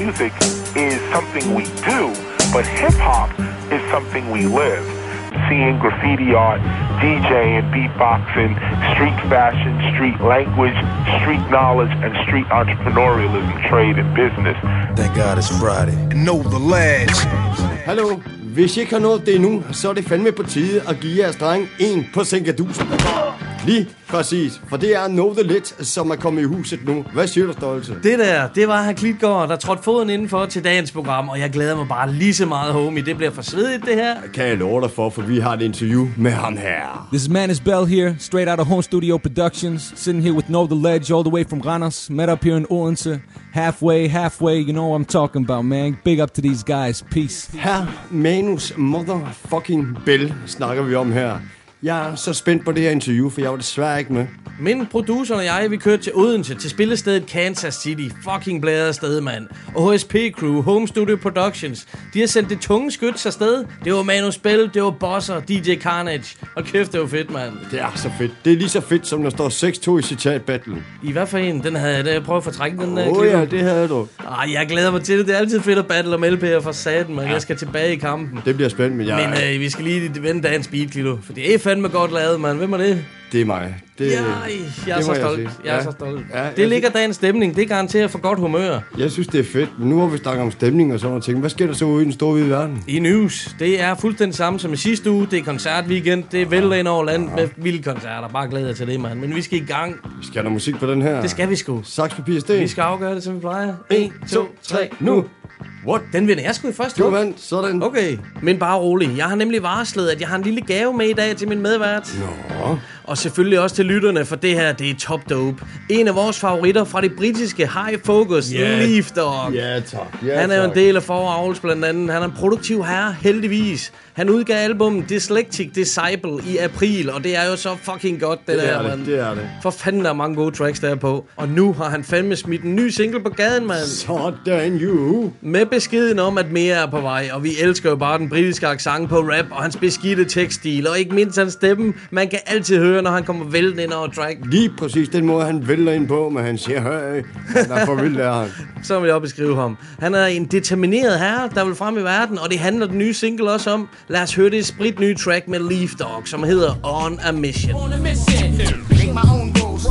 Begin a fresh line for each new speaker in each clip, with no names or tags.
music is something we do, but hip-hop is something we live. Seeing graffiti art, DJing, beatboxing, street fashion, street language, street knowledge, and street entrepreneurialism, trade and business.
Thank God it's Friday. And know the lads.
Hallo, hvis I ikke har nået det endnu, så er det fandme på tide at give jeres dreng en på sænkedusen. Lige præcis, for det er Know the Lit, som er kommet i huset nu. Hvad siger du, Stolte?
Det var her Klitgaard, der trådte foden indenfor til dagens program, og jeg glæder mig bare lige så meget, homie. Det bliver for svedigt, det her.
Kan jeg love dig for vi har et interview med ham her.
This is Manus Bell here, straight out of Home Studio Productions, sitting here with Know the Ledge all the way from Randers, met up here in Odense. Halfway, you know what I'm talking about, man. Big up to these guys, peace.
Her Manus motherfucking Bell snakker vi om her. Jeg er så spændt på det her interview, for jeg var desværre ikke med.
Min producer og jeg, vi kørte til Odense, til spillestedet Kansas City. Fucking bladret sted, mand. Og HSP Crew, Home Studio Productions, de har sendt det tunge skyts afsted. Det var Manus Bell, det var Bosser, DJ Carnage. Og kæft, det var fedt, mand.
Det er så fedt. Det er lige så fedt, som der står 6-2 i citatbattlen.
I hvad for en? Den havde jeg prøvet at fortrække den der.
Ja, det havde du.
Jeg glæder mig til det. Det er altid fedt at battle om LP'er for saten, man. Jeg skal tilbage i kampen.
Det bliver spændende,
men vi skal lige vende dagens beat, Klito. For det er fandme godt lavet, mand. Hvem er det?
Det er mig.
Jeg er så stolt. Jeg er så stolt. Det ligger dagens stemning. Det garanterer for godt humør.
Jeg synes, det er fedt. Men nu har vi snakket om stemning og sådan noget ting. Hvad sker der så ude i den store hvide verden?
I news. Det er fuldstændig samme som i sidste uge. Det er koncertweekend. Det er vældig ind over landet med vilde koncerter. Bare glæder jeg til det, mand. Men vi skal i gang.
Vi skal have noget musik på den her.
Det skal vi sgu.
Saks, papir, sten.
Vi skal afgøre det, som vi plejer. 1, 2, 3, nu.
What?
Den vinder jeg sgu i første
hug. Du vandt, sådan.
Okay, men bare rolig. Jeg har nemlig varslet, at jeg har en lille gave med i dag til min medvært.
Nå.
Og selvfølgelig også til lytterne, for det her, det er top dope. En af vores favoritter fra det britiske High Focus, Leaf Dog.
Ja, tak.
Han er jo en del af Four blandt andet. Han er en produktiv herre, heldigvis. Han udgav albummet Dyslectic Disciple i april, og det er jo så fucking godt, det der, mand.
Det er det.
For fanden, der er mange gode tracks der på. Og nu har han fandme smidt en ny single på gaden, mand.
Sådan you.
Med beskeden om, at mere er på vej, og vi elsker jo bare den britiske accent på rap, og hans beskidte tekststil, og ikke mindst hans stemme, man kan altid høre, når han kommer væltende ind over track.
Lige præcis den måde, han vælter ind på, men han siger, høj, han er for vildt der.
Så vil jeg også beskrive ham. Han er en determineret herre, der vil frem i verden, og det handler den nye single også om. Lad os høre det spritnye track med Leaf Dog, som hedder On a Mission.
On a mission, make my own rules.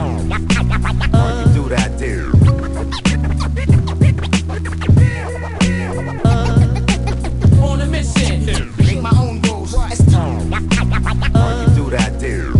Do that, dude. On a mission, make my own rules. Do that, dude.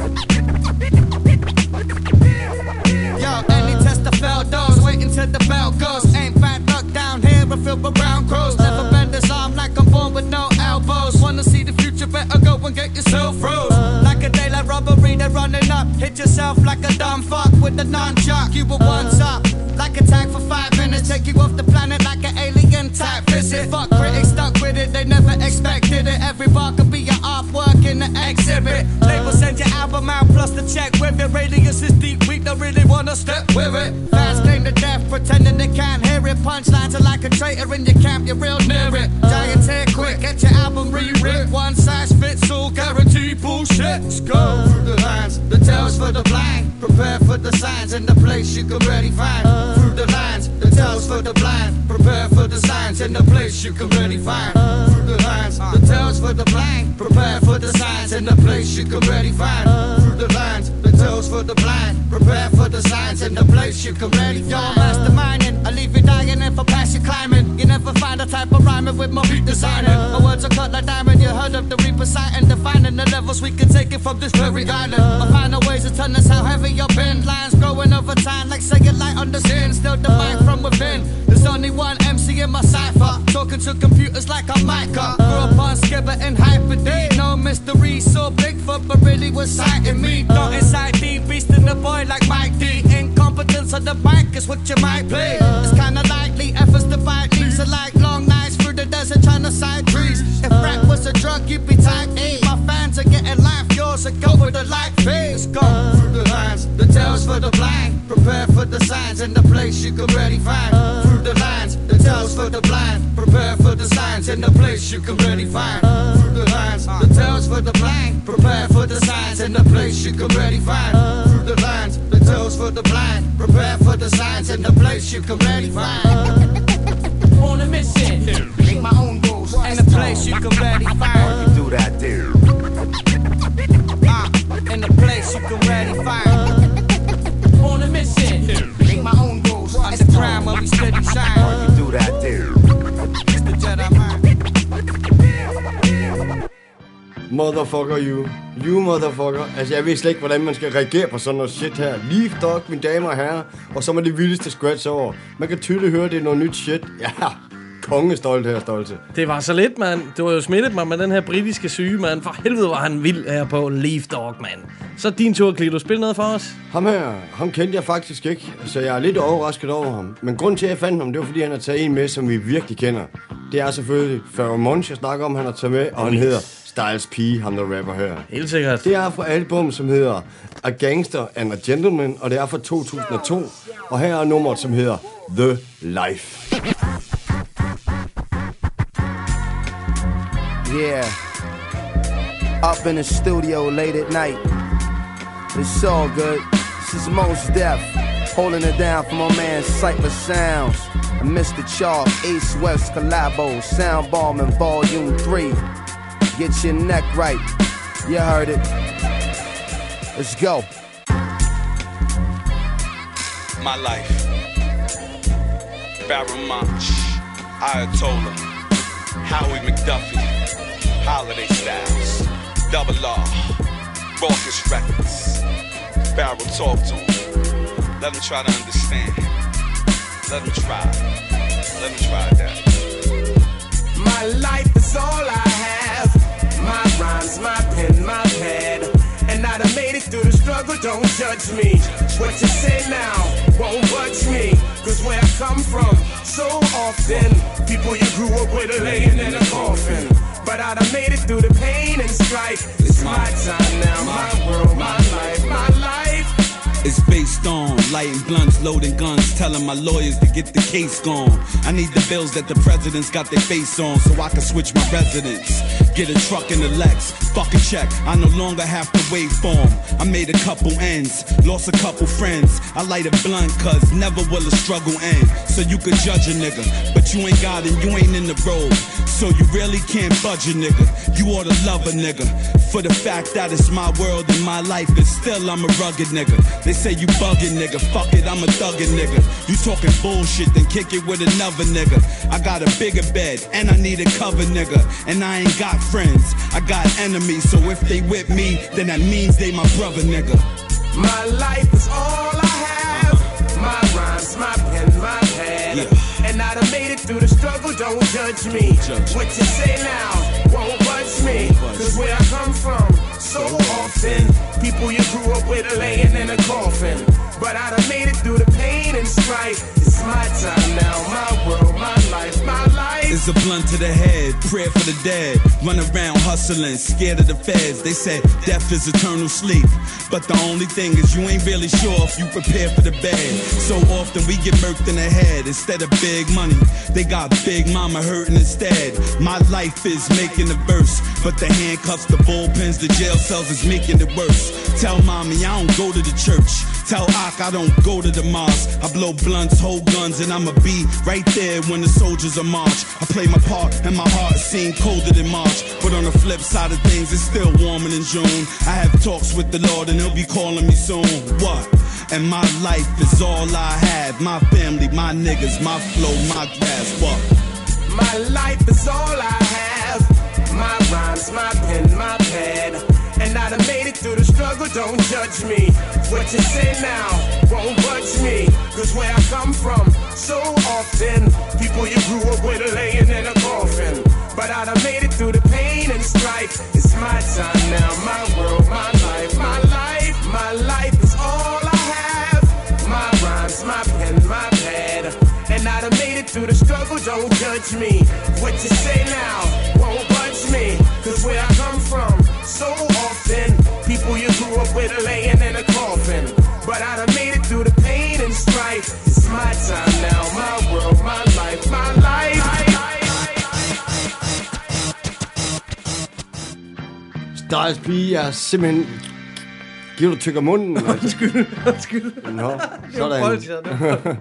Yo, any test the fell doors, waiting till the bell goes. Ain't bad luck down here, but filled with brown crows. Never bend this arm like I'm born with no elbows. Wanna see the future, better go and get yourself froze. Like a daylight robbery, they're running up. Hit yourself like a dumb fuck with the non-jock. You were once up, like a tag for 5 minutes. Take you off the planet like an alien type visit. Fuck critics stuck with it, they never expected it. Every bar could be your artwork in the exhibit. Label send your album out plus the check with it. Radius is deep, we don't really wanna step with it. Fans claim to death, pretending they can't hear it. Punchlines are like a traitor in your camp, you're real near it. Giants here quick, get your album rewritten. One size fits all, guaranteed bullshit. Let's go through the lines, the tales for the blind. Prepare for the signs in the place you can ready find. Through the lines, the tales for the blind. Prepare for the signs in the place you can ready find. Through the lines, the tales for the blind. Prepare for the signs in the place you can ready find. Through the lines, the tales for the blind. Prepare for the signs in the place you can ready find. You're masterminding, I leave you dying if I pass you climbing. You never find a type of rhyming with my beat designing. My words are cut like diamond, you heard of the reaper sighting. Defining the levels we can take it from this very island. I find a ways to turn this how heavy your pen. Lines growing over time like say it light on the sin. Still the mic from within. There's only one MC in my cipher. Talking to computers like I'm Micah. Grew up on Skibber and Hyper D. No mystery, saw Bigfoot but really was sighting me. Don't inside D, beasting the boy like Mike D. Incompetence on the mic is what you might play. It's kinda likely efforts to fight leads are like long nights through the desert trying to side trees. If rap was a drug, you'd be type A. My fans are getting life, yours are go with the life phase. Go through the lines, the tales for the blind. Prepare for the signs in the place you can ready find. Through the lines, the tales for the blind. Prepare for the signs in the place you can ready find. Through the lines, the tales for the blind. Prepare for the signs in the place you can ready find. Through the lines, the tales for the blind. Prepare for the signs in the place you can ready find. On a mission, make my own rules, and a place you can ready find.
You do that there.
In a place you can ready find. On a mission, make my own rules, underground where we steady shine.
You do that there.
It's the Jedi mind.
Motherfucker you motherfucker. Altså jeg ved slet ikke hvordan man skal reagere på sådan noget shit her. Leaf Dog, mine damer og herrer. Og så med det vildeste scratch over. Man kan tydeligt høre det er noget nyt shit. Ja, kongestolt her, stolte.
Det var så lidt, mand. Det var jo smittet mig med den her britiske syge, mand. For helvede var han vild her på Leaf Dog, mand. Så din tur, Klito. Spil noget for os.
Ham kendte jeg faktisk ikke. Så jeg er lidt overrasket over ham. Men grunden til at jeg fandt ham, det var fordi han har taget en med, som vi virkelig kender. Det er selvfølgelig Pharoahe Monch, jeg snakker om, han har taget med. Og han hedder Styles P, ham der rapper her.
Helt sikkert.
Det er fra album, som hedder A Gangster and a Gentleman, og det er fra 2002. Og her er nummeret, som hedder The Life.
Yeah. Up in the studio late at night. It's all good. This is Mos Def, holding it down for my man Cypher Sounds. And Mr. Charles, East West Collabo, Sound Bombing Volume 3. Get your neck right. You heard it. Let's go.
My life. Pharoahe Monch, Ayatollah, Howie McDuffie, Holiday Styles, Double R, Raucous Records. Pharoahe, talk to him. Let him try to understand. Let him try. Let him try that.
My life is all I have. My rhymes, my pen, my pad. And I done made it through the struggle, don't judge me. What you say now won't budge me. Cause where I come from, so often people you grew up with are laying in a coffin. But I done made it through the pain and strife. It's my time now, my world, my life, my life.
It's based on lighting blunts, loading guns, telling my lawyers to get the case gone. I need the bills that the president's got their face on so I can switch my residence. Get a truck in the Lex, fuck a check, I no longer have to wait for 'em. I made a couple ends, lost a couple friends. I light a blunt cause never will a struggle end. So you could judge a nigga, but you ain't got it, you ain't in the road. So you really can't budge a nigga, you ought to love a nigga. For the fact that it's my world and my life, and still I'm a rugged nigga. They say you bugging nigga, fuck it, I'm a thuggin' nigga. You talking bullshit, then kick it with another nigga. I got a bigger bed, and I need a cover nigga. And I ain't got friends, I got enemies. So if they with me, then that means they my brother nigga.
My life is all I have. My rhymes, my pen, my pad.
Yeah.
And I done made it through the struggle, don't judge me. What you say now won't budge me. Cause where I come from, so often people you grew up with are laying in a coffin. But I done made it through the pain and strife. It's my time now, my world, my life, my life.
It's a blunt to the head, prayer for the dead. Run around hustling, scared of the feds. They said death is eternal sleep. But the only thing is you ain't really sure if you prepare for the bed. So often we get murked in the head. Instead of big money, they got big mama hurting instead. My life is making the verse, but the handcuffs, the bullpens, the jail cells is making it worse. Tell mommy I don't go to the church. Tell Ak I don't go to the mosque. I blow blunts, hold guns, and I'ma be right there when the soldiers are march. I play my part, and my heart seems colder than March. But on the flip side of things, it's still warmer than June. I have talks with the Lord, and He'll be calling me soon. What? And my life is all I have. My family, my niggas, my flow, my grass. What?
My life is all I have. My rhymes, my pen, my pad. And I done made it through the struggle, don't judge me. What you say now won't budge me. Cause where I come from, so often people you grew up with are laying in a coffin. But I done made it through the pain and strife. It's my time now, my world, my life, my life. My life is all I have. My rhymes, my pen, my pad. And I done made it through the struggle, don't judge me. What you say now won't budge me. Cause where I come from, so often people you grew up with are laying in a coffin. But I done made it through the pain and strife. It's my time now, my world, my life, my life.
Styles P er simpelthen... Giver du tykker munden?
Undskyld.
Nå, sådan.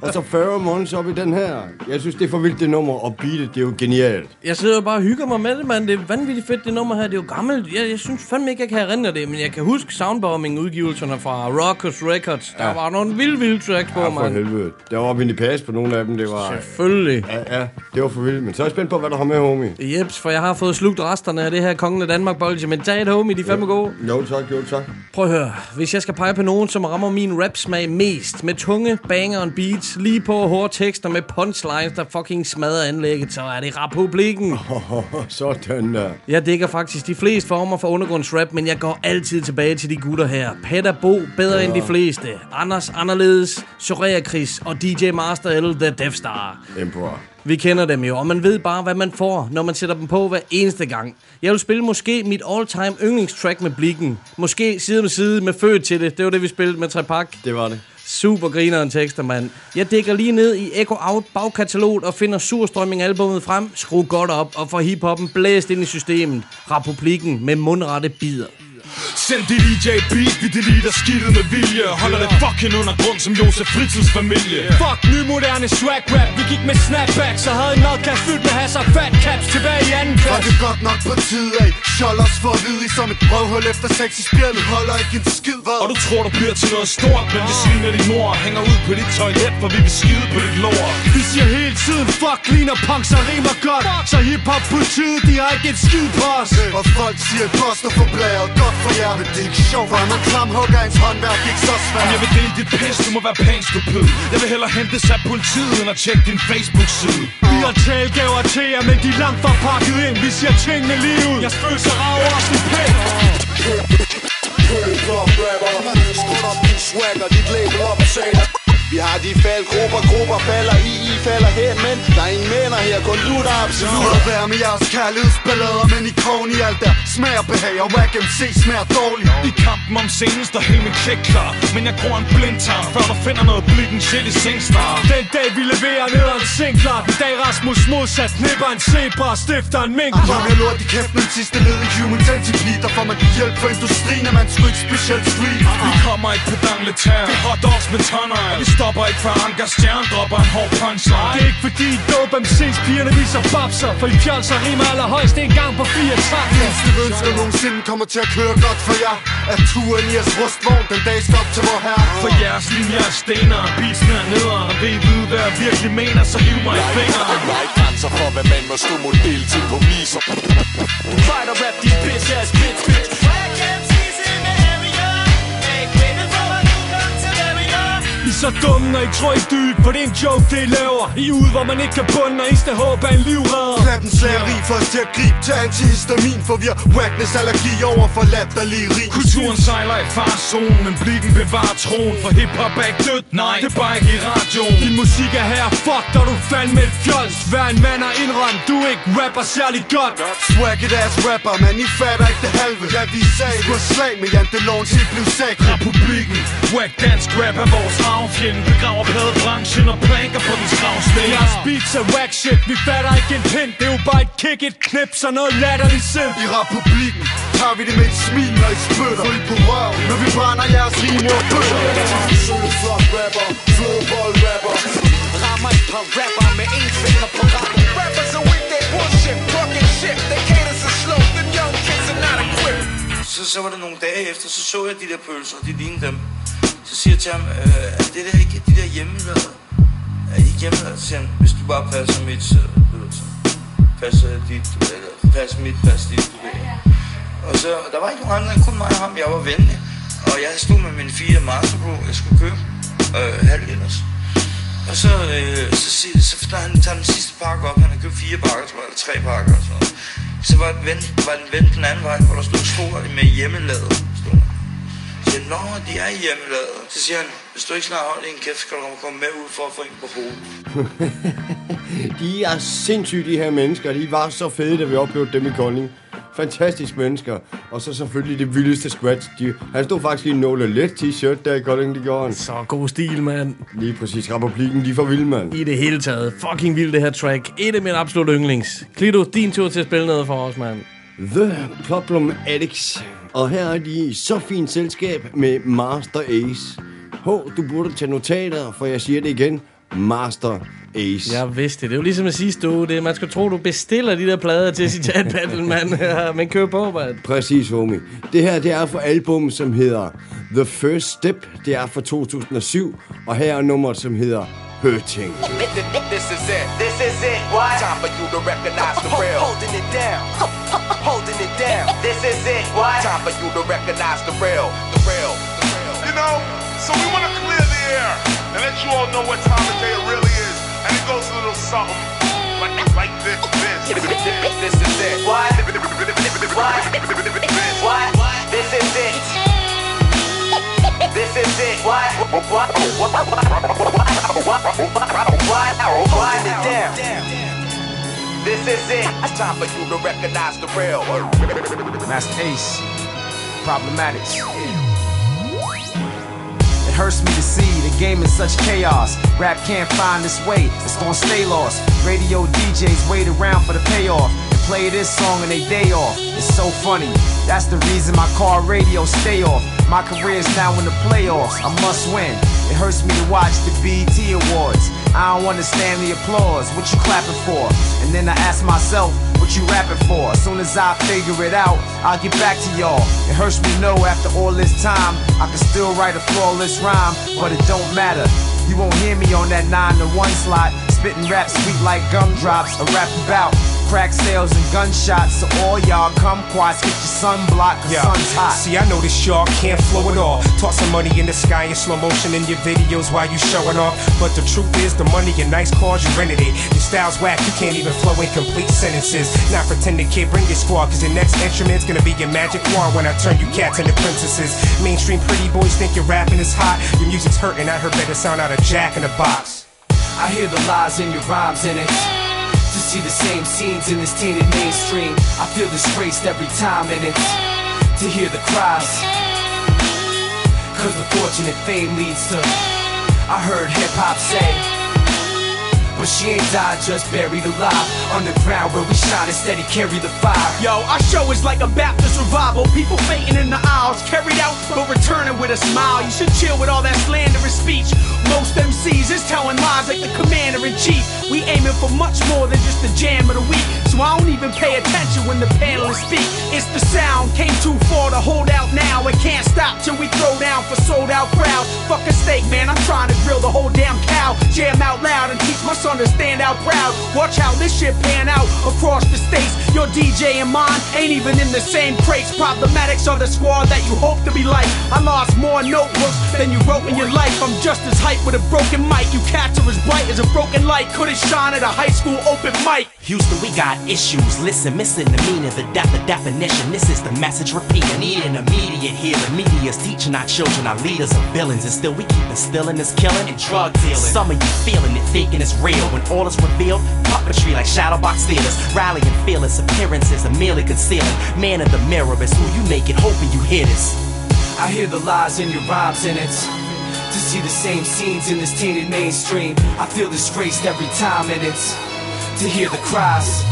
Og så Pheromones op i den her. Jeg synes, det er for vildt, det nummer, og beatet, det er jo genialt.
Jeg sidder jo bare og hygger mig med det, mand. Det er vanvittigt fedt, det nummer her. Det er jo gammelt. Jeg synes fandme ikke, jeg kan erindre det, men jeg kan huske Soundbombing-udgivelserne fra Rockers Records. Der var nogle vilde tracks på,
mand. Ja, for
man.
helvede. Der var Vinnie Paz på nogle af dem, det var...
Selvfølgelig.
Ja, det var for vildt. Men så er jeg spændt på, hvad der har med, homie.
Jeps, for jeg har fået slugt resterne af det her Kongen af Danmark-bolge. Men tag et, homie, de er fandme gode.
Jo tak.
Prøv at høre. Hvis jeg skal pege på nogen, som rammer min rap-smag mest, med tunge banger and beats, lige på hårde tekster med punchlines, der fucking smadrer anlægget, så er det Republikken.
Sådan der.
Jeg dækker faktisk de fleste former for undergrundsrap, men jeg går altid tilbage til de gutter her. Peter Bo, bedre end de fleste. Anders Anderledes, Soraya Chris og DJ Master L, The Death Star.
Emperor.
Vi kender dem jo, og man ved bare, hvad man får, når man sætter dem på hver eneste gang. Jeg vil spille måske mit all-time yndlingstrack med Blikken. Måske side om side med Født til det. Det var det, vi spillede med Trepak.
Det var det.
Super grineren tekster, mand. Jeg dækker lige ned i Echo Out bagkataloget og finder Surstrømming-albummet frem. Skru godt op og får hiphoppen blæst ind i systemet. Republikken med mundrette bider.
Send det DJ beat, vi deleter skidtet med vilje. Holder det fucking under grund som Josef Fritzls familie.
Fuck ny moderne swag rap. Vi gik med snapbacks og havde en madkasse fyldt med hasser fat caps tilbage i anden klasse.
Og det er godt nok på tid af. Scholars for at vide som et røvhul efter sex i spjældet. Holder ikke en skid, hvad?
Og du tror du bliver til noget stort, men vi sviner din mor og hænger ud på dit toilet, for vi vil skide på dit lår.
Vi siger hele tiden fuck clean og punks og rimer godt. Så hiphop politiet, de har ikke et skid på os.
Og folk siger et poster for blæret. Godt for jer, men det er ikke sjovt. For en klamhugger ens håndværk ikke så svært.
Jeg vil dele dit pis, du må være pænt stupid. Jeg vil hellere hentes af politiet, end at tjekke din Facebook-side.
Vi har talgaver til jer, men de er langt fra pakket ind. Vi siger tingene lige ud. Jeg følelser rager os en pæk.
Skål op din swagger, dit label op og sagde. Vi har de faldgrupper falder I falder hen, men der er ingen mænder her, kun du der er absolut. Lad være med jeres kærlighedsballader, men i krogen i alt der smager behag, og Wack MC smager dårligt.
I kampen om scenen står hele min check klar, men jeg gror en blindtarm, før du finder noget Blikken shit i Singstar.
Den dag vi leverer ned ad en sinklar, den dag Rasmus modsat knipper en zebra og stifter en mink.
Kom jeg lort i kæft, men sidste led i Human Centipede, der får man hjælp fra industrien, at man sgu ikke specielt street.
Vi kommer ikke på dangletær, det er hot dogs med tonner. Vi stopper ikke for Anker Stjern, dropper en hård punchline.
Det er ikke fordi dope MC's pigerne viser babser, for I fjolser rimer allerhøjst en gang på 4 takter.
Eneste ønsker nogensinde kommer til at køre godt for jer, at turen i jeres rustvogn den dag skal op til vor herre.
For jeres linjer er stener, beatsene er nederen, og vil I vide hvad jeg virkelig mener, så hiv mig i fingeren.
Der er ikke grænser for hvad man må stå model til på miser.
Du fighter rap de bitch ass bitch. I så dumme, når I tror I dyb, for det er en joke, det I laver. I er ude, hvor man ikke kan bunde, og eneste håb er en livredder.
Klappen slageri for os til at gribe til antihistamin, for vi har wackness allergi over for latterlige rig.
Kulturen sejler i farzonen, men Blikken bevarer troen, for hiphop er ikke dødt, nej, det er bare ikke i radioen.
Din musik er her, fuck, og du fandme et fjols. Hver en mand er indrømt, du ikke rapper særlig godt.
Swagget ass rapper, man, I fatter ikke det halve. Ja, vi sagde det. Du har slag med Jan Delon, til blev sagt.
Republikken, wack dansk rap er vores arvfjende. Begraver pladebranchen og planker på den skravsten.
Jeres beats er wack shit, vi fatter ikke en pind. Det er jo bare et kick, et knips og noget latterligt sind.
I Republikken tager vi det med et smil, når I spytter. Fuld på røv, når vi brænder jeres rimer og bøtter. Søde flot rapper, flodbold rapper.
Rammer et par rapper med en finger på rappen. Rappers are with that bullshit, talking shit. They cater so slow, them young kids are not equipped. Så var der nogle dage efter, så jeg de der pølser, de lignede dem. Så siger jeg til ham, er det der ikke de der hjemmelavede? Er I ikke hjemmelavede? Så siger han, hvis du bare passer mit, passer dit, eller passer mit, passer dit, du ved. Og så, der var ikke nogen andre, kun mig og ham, jeg var venlig. Og jeg stod med mine 4 Master Pro, jeg skulle købe, halv ellers. Og så tager han den sidste pakke op, han har købt 4 pakker, tror jeg, eller 3 pakker og sådan noget. Så var den vendt den anden vej, hvor der stod sko med hjemmelavet. Så siger, nå, de er hjemmelavet. Så siger han, hvis du ikke snart holder en kæft, skal du komme med ud for at få en på hovedet.
De er sindssygt, de her mennesker. De var så fede, da vi oplevede dem i Kolding. Fantastiske mennesker. Og så selvfølgelig det vildeste scratch. Han stod faktisk i en Nåle Let t-shirt der i Kolding, det gjorde han.
Så god stil, mand.
Lige præcis. Republikken, de er for vilde, mand.
I det hele taget. Fucking vildt det her track. Et af mine absolut yndlings. Klito, din tur til at spille noget for os, mand.
The Problem Addicts. Og her er de i så fint selskab med Master Ace. Du burde tage notater, for jeg siger det igen. Master Ace.
Jeg vidste det. Det er jo ligesom at sidste uge. Man skal tro, du bestiller de der plader til Citat Battle, mand. Men køb på, mand.
Præcis, homie. Det her, det er fra album, som hedder The First Step. Det er fra 2007. Og her er nummeret, som hedder Hurting.
This is it. This is it. What? Time for you to recognize the real. Holding it down. Holding it down. This is it. What? Time for you to recognize the real. The real. The real.
You know, so we want to clear the air and let you all know what time of day it really is. And it goes a little something like this.
This is it. What? What? What? This is it. This is it. What? Holding it down. This is it. Time for you to recognize the real.
Master Ace. Problematics. It hurts me to see the game in such chaos. Rap can't find its way, it's gonna stay lost. Radio DJs wait around for the payoff and play this song on their day off. It's so funny, that's the reason my car radio stay off. My career's now in the playoffs, I must win. It hurts me to watch the BET Awards. I don't understand the applause, what you clapping for? And then I ask myself, what you rapping for? As soon as I figure it out, I'll get back to y'all. It hurts me to know after all this time, I can still write a flawless rhyme, but it don't matter. You won't hear me on that 9 to 1 slot, spitting rap sweet like gumdrops. I rap about crack sales and gunshots, so all y'all kumquats get your sunblock, cause sun's hot.
See, I know this y'all can't flow at all. Toss some money in the sky in slow motion in your videos while you showing off. But the truth is, the money and nice cars, you rented it. Your style's whack, you can't even flow in complete sentences. Not pretending, kid, bring your squad, cause your next instrument's gonna be your magic wand when I turn you cats into princesses. Mainstream pretty boys think your rapping is hot. Your music's hurting, I heard better sound out of Jack in the Box.
I hear the lies in your rhymes in it. To see the same scenes in this tainted mainstream, I feel disgraced every time in it. To hear the cries, cause the fortune and fame leads to, I heard hip-hop say, but she ain't died, just buried alive. Underground where we shine and steady carry the fire.
Yo, our show is like a Baptist revival. People fainting in the aisles, carried out but returning with a smile. You should chill with all that slanderous speech. Most MCs is telling lies like the commander-in-chief. We aiming for much more than just the jam of the week, so I don't even pay attention when the panelists speak. It's the sound, came too far to hold out now. It can't stop till we throw down for sold out crowds. Fuck a steak, man, I'm trying to grill the whole damn cow. Jam out loud and teach my son to stand out proud. Watch how this shit pan out across the states. Your DJ and mine ain't even in the same crates. Problematics are the squad that you hope to be like. I lost more notebooks than you wrote in your life. I'm just as hyped with a broken mic. You cats are as bright as a broken light. Couldn't shine at a high school open mic.
Houston, we got issues. Listen, missing the meaning, the definition. This is the message repeating. Need an immediate healing. Media's teaching our children, our leaders are villains, and still we keep instilling this killing and drug dealing. Some of you feeling it, thinking it's real, when all is revealed, puppetry like Shadowbox theaters. Rallying fearless appearances are merely concealing. Man in the mirror is who you make it, hoping you hear this.
I hear the lies in your rhymes in it. To see the same scenes in this tainted mainstream, I feel disgraced every time in it. To hear the cries.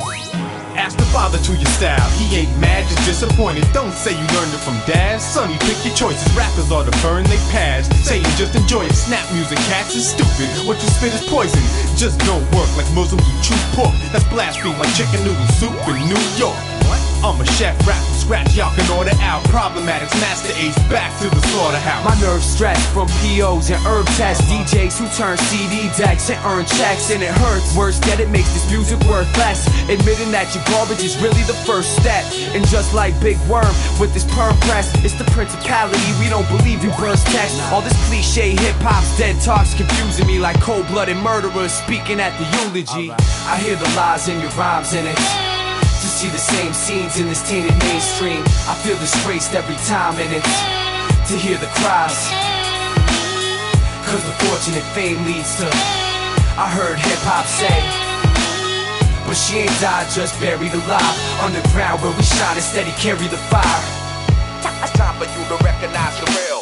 Ask the father to your style, he ain't mad, just disappointed. Don't say you learned it from dad, sonny, pick your choices. Rappers ought to burn they past, say you just enjoy it. Snap music, cats is stupid, what you spit is poison. Just don't work like Muslims who chew pork. That's blasphemy like chicken noodle soup in New York. I'm a chef, rap from scratch, y'all can order out. Problematics, Master Ace, back to the slaughterhouse.
My nerves stretch from POs and herb tests. DJs who turn CD decks and earn checks, and it hurts. Worse yet, it makes this music worth less. Admitting that your garbage is really the first step. And just like Big Worm with this perm press, it's the principality, we don't believe you burst text. All this cliche hip-hop's dead talk's confusing me like cold-blooded murderers speaking at the eulogy. I hear the lies in your rhymes in it. To see the same scenes in this tainted mainstream, I feel disgraced every time in it. To hear the cries, cause the fortune and fame leads to, I heard hip-hop say, but she ain't died, just buried alive. Underground where we shine and steady carry the fire.
It's time for you to recognize the real.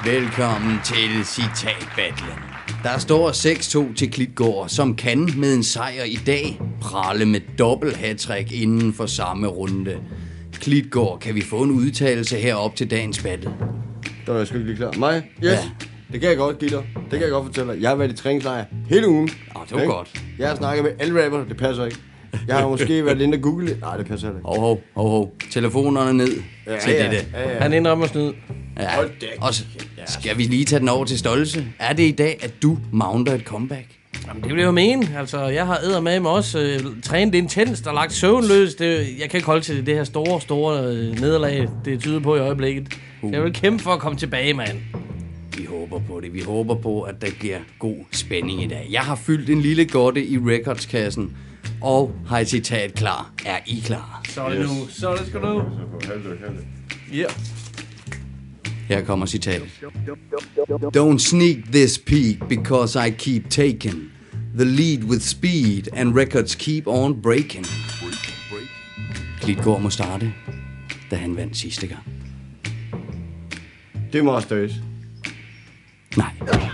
Velkommen til citatbattlen. Der står 6-2 til Klitgaard, som kan med en sejr i dag prale med dobbelt hattrick inden for samme runde. Klitgaard, kan vi få en udtalelse herop til dagens battle?
Der er jeg sgu ikke lige klar. Mig? Yes. Ja. Det kan jeg godt give dig. Det kan jeg godt fortælle dig. Jeg har været i træningslejr hele ugen.
Det var godt.
Jeg har snakket med alle rapper. Det passer ikke. Jeg har måske været inde og google det. Nej, det passer ikke.
Hov. Telefonerne ned til dette.
Ja. Han indrømmer snyd.
Ja. Og skal vi lige tage den over til Stolse? Er det i dag, at du mounter et comeback?
Jamen, det vil jeg jo mene. Altså, jeg har eddermame også trænet intenst og lagt søvnløst. Jeg kan ikke holde til det her store nederlag, det tyder på i øjeblikket. Jeg vil kæmpe for at komme tilbage, mand.
Vi håber på det. Vi håber på, at der bliver god spænding i dag. Jeg har fyldt en lille godte i recordskassen, og har et citat klar. Er I klar?
Så er det nu. Så er det sgu nu.
Ja. Her kommer citatet. Don't sneak this peak because I keep taking the lead with speed and records keep on breaking. Klitgaard må starte, da han vandt sidste gang.
Det er Master Ace.
Nej.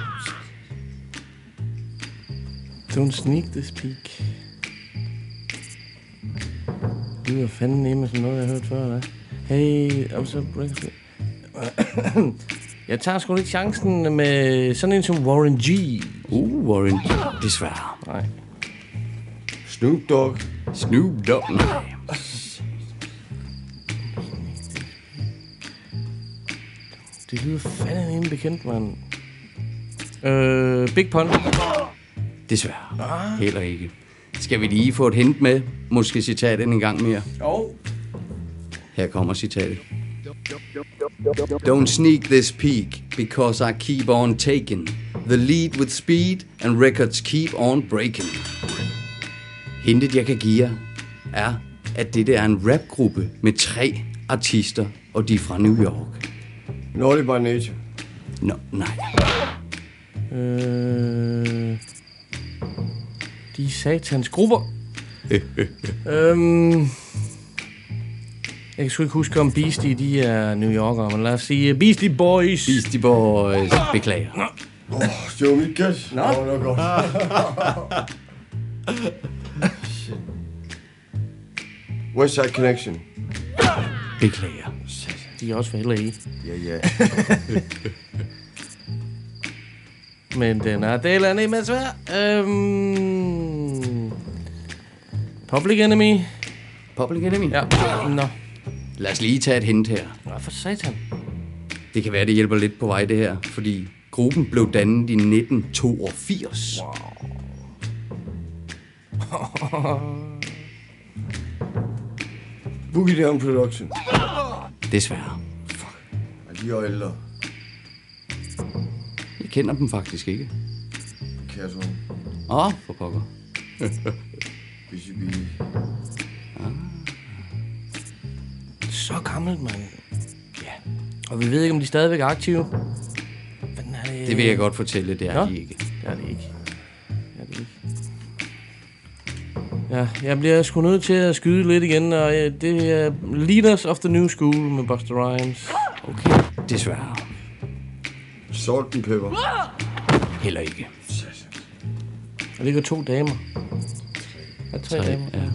Don't sneak this peak. Det var fanden nemme som noget, jeg har hørt før, eller? Hey, I'm so breaking. Jeg tager sgu lidt chancen med sådan en som Warren G.
Warren G. Desværre.
Nej.
Snoop Dogg.
Nej.
Det lyder fandme en bekendt, mand. Big Pun.
Desværre. Heller ikke. Skal vi lige få et hint med? Måske citatet en gang mere. Her kommer citatet. Don't sneak this peak, because I keep on taking the lead with speed, and records keep on breaking. Hintet, jeg kan give jer, er, at dette er en rapgruppe med 3 artister, og de er fra New York.
Naughty by Nature.
Nej.
De satans grupper. Jeg kan sgu ikke huske, om Beastie, de er New Yorker, men lad os sige Beastie Boys.
Beastie Boys, beklager.
Show me cash.
Nå.
Det var godt. West Side Connection.
Beklager.
De er også fra LA.
Ja.
Men den er del af en med svær. Public Enemy.
Public Enemy?
Ja. Nå.
Lad os lige tage et hint her.
Hvad for satan?
Det kan være, det hjælper lidt på vej, det her. Fordi gruppen blev dannet i 1982.
Boogie Down Production.
Desværre.
De er ældre.
Jeg kender dem faktisk ikke.
Kasso.
For pokker.
Busy Bee.
Så gammelt, mand. Ja. Og vi ved ikke, om de stadigvæk er aktive.
Det vil jeg godt fortælle, det er de ikke.
Det er de ikke. Ja, jeg bliver sgu nødt til at skyde lidt igen, og det er Leaders of the New School med Busta Rhymes.
Okay, desværre.
Salt and Pepper.
Heller ikke.
Der ligger 2 damer. Der er 3 damer.
Ja.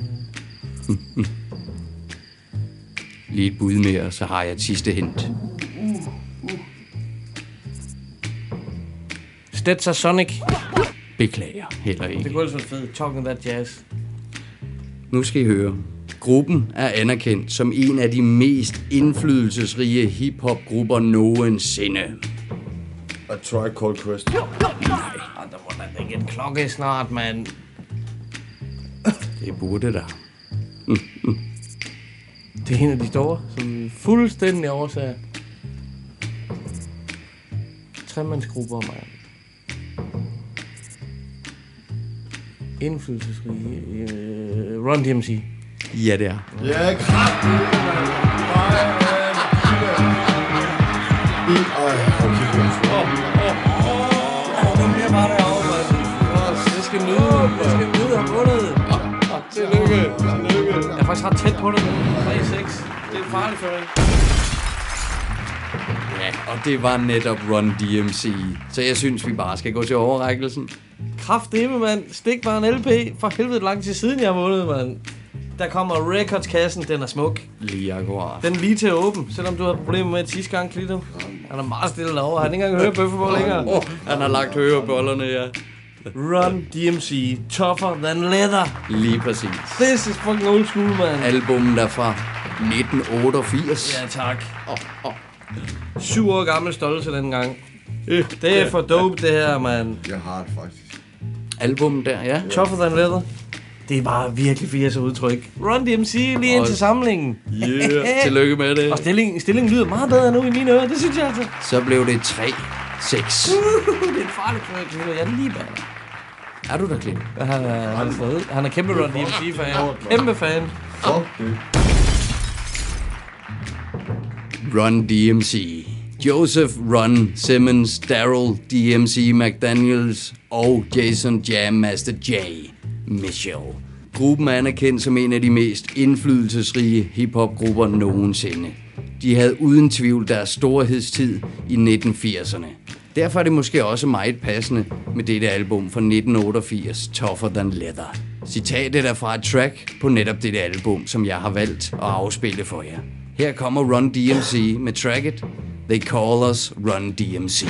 Lige et bud mere, så har jeg et sidste hint.
Stetzer Sonic.
Beklager, heller ikke.
Det kunne ellers være fedt. Talking That Jazz.
Nu skal I høre. Gruppen er anerkendt som en af de mest indflydelsesrige hip-hop-grupper nogensinde.
A Tribe Called Quest.
Nej. Der må da ikke en klokke snart, mand.
Det burde der.
Det er en af de store, som fuldstændig oversager. 3-mandsgrupper, mand. Indflydelsesrige. Run DMC.
Ja, det er.
Ja, kraftigt,
Jeg skal nyde ham vundet.
Tillykke.
Jeg er faktisk ret tæt på det nu. 3-6. Det er farligt for dig.
Ja, og det var netop Run DMC. Så jeg synes, vi bare skal gå til overrækkelsen.
Kraftedeme, mand. Stik bare en LP. For helvede lang tid siden, jeg har vundet, mand. Der kommer Records-kassen. Den er smuk.
Lige akkurat.
Den er lige til at åbne, selvom du har problemer med et sidste gang, Klito. Han er meget stille derovre. Han har ikke engang hørt bøffeball længere.
Han har lagt hørebollerne, ja.
Run DMC. Tougher than leather.
Lige præcis.
This is fucking old school, man.
Albummet er fra 1988.
Ja, tak. 7 år gammel stolte dengang. Det er for dope, det her, man.
Jeg har det faktisk.
Albummet der, ja.
Tougher than leather. Det er bare virkelig 80'er udtryk. Run DMC lige ind til samlingen.
Yeah, tillykke med det.
Og stillingen lyder meget bedre nu i mine ører, det synes jeg altså.
Så blev det 3-6.
Det er en farlig klø. Jeg er lige bag dig.
Er du der, Klint?
Han er kæmpe Run DMC-fan. Kæmpe fan.
Run DMC. Joseph Run Simmons, Daryl DMC McDaniels og Jason Jam Master J. Mitchell. Gruppen er anerkendt som en af de mest indflydelsesrige hiphop-grupper nogensinde. De havde uden tvivl deres storhedstid i 1980'erne. Derfor er det måske også meget passende med dette album fra 1988, Tougher Than Leather. Citatet er fra et track på netop dette album, som jeg har valgt at afspille for jer. Her kommer Run DMC med tracket They Call Us Run DMC.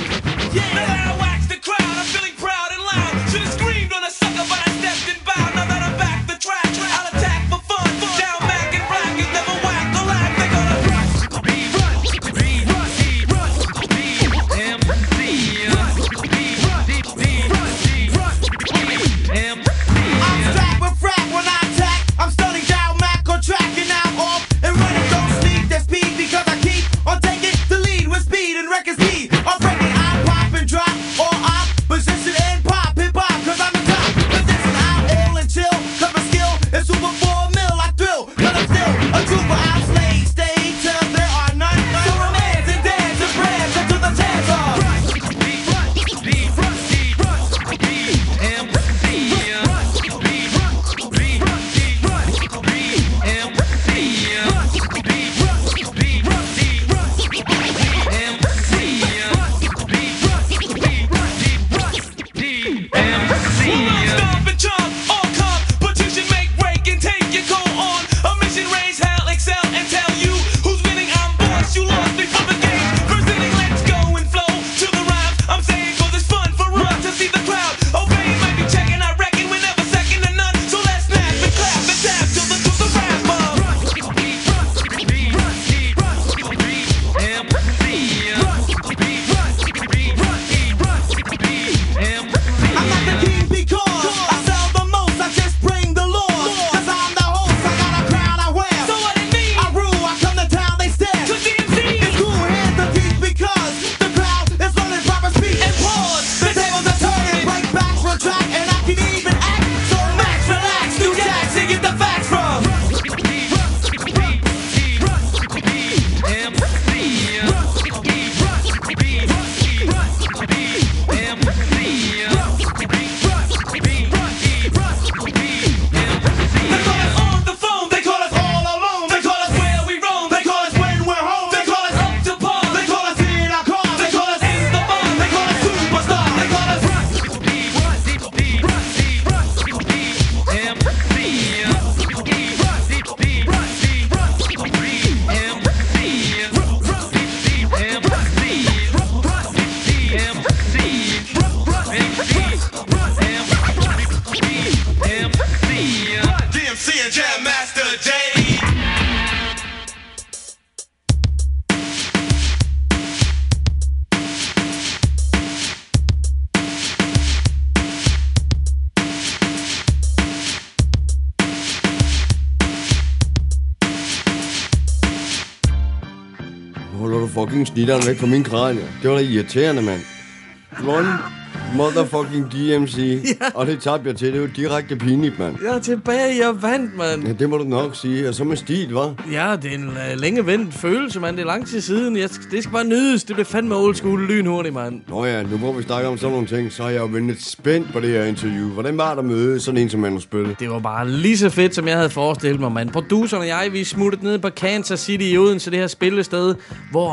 Fucking snitteren væk fra min kranie. Det var da irriterende, mand. Run motherfucking DMC. Ja. Og det tabte jeg til. Det er jo direkte pinligt, mand.
Jeg er tilbage, jeg vandt, mand.
Ja, det må du nok sige. Og så med stil, hva'?
Ja, det er en længe vendt følelse, mand. Det er lang tid siden. Det skal bare nydes. Det bliver fandme old school lynhurtigt, mand.
Nå ja, nu hvor vi snakker om sådan nogle ting, så har jeg jo ventet spændt på det her interview. Hvordan var der møde sådan en som Manus Bølle?
Det var bare lige så fedt, som jeg havde forestillet mig, mand. Produceren og jeg, vi smuttede ned på Kansas City i Odense, det her spillested, hvor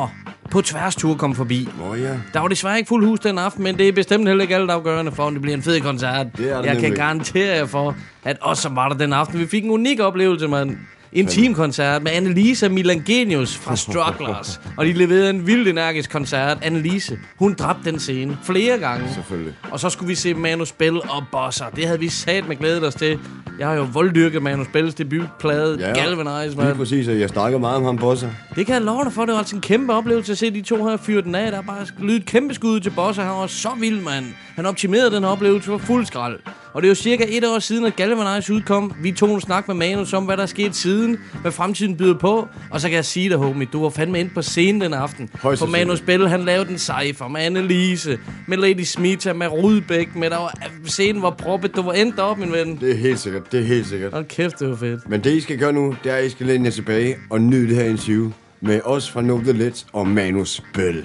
på tværstur kom forbi.
Ja.
Der var desværre ikke fuld hus den aften, men det er bestemt heller ikke alt afgørende for, om det bliver en fed koncert. Jeg kan garantere jer for, at også som var der den aften. Vi fik en unik oplevelse, mand. En teamkoncert med Annelise og Milan Genius fra Strugglers. Og de leverede en vildt energisk koncert. Annelise, hun dræbte den scene flere gange.
Selvfølgelig.
Og så skulle vi se Manu Spell og Bosser. Det havde vi sat med glædet os til. Jeg har jo volddyrket Manu Spells debutplade, Galvanize, man.
Lige præcis, og jeg snakker meget om ham, Bosser.
Det kan jeg love dig for. Det var altså en kæmpe oplevelse at se de to her fyre den af. Der er bare lydet kæmpe skud til Bosser. Han var så vild, mand. Han optimerede den her oplevelse for fuld skrald. Og det er jo cirka 1 år siden, at Galvanize udkom. Vi tog en snak med Manus om, hvad der er sket siden, hvad fremtiden byder på. Og så kan jeg sige dig, homie, du var fandme ind på scenen den aften. For Manus Spell, han lavede en cypher med Annelise, med Lady Smita, med Rudbæk, med der var scenen var proppet. Du var endt op, min ven.
Det er helt sikkert, det er helt sikkert.
Hold kæft, det var fedt.
Men det, I skal gøre nu, det er, at I skal læne jer tilbage og nyde det her interview med os fra Know The Ledge og Manus Spell.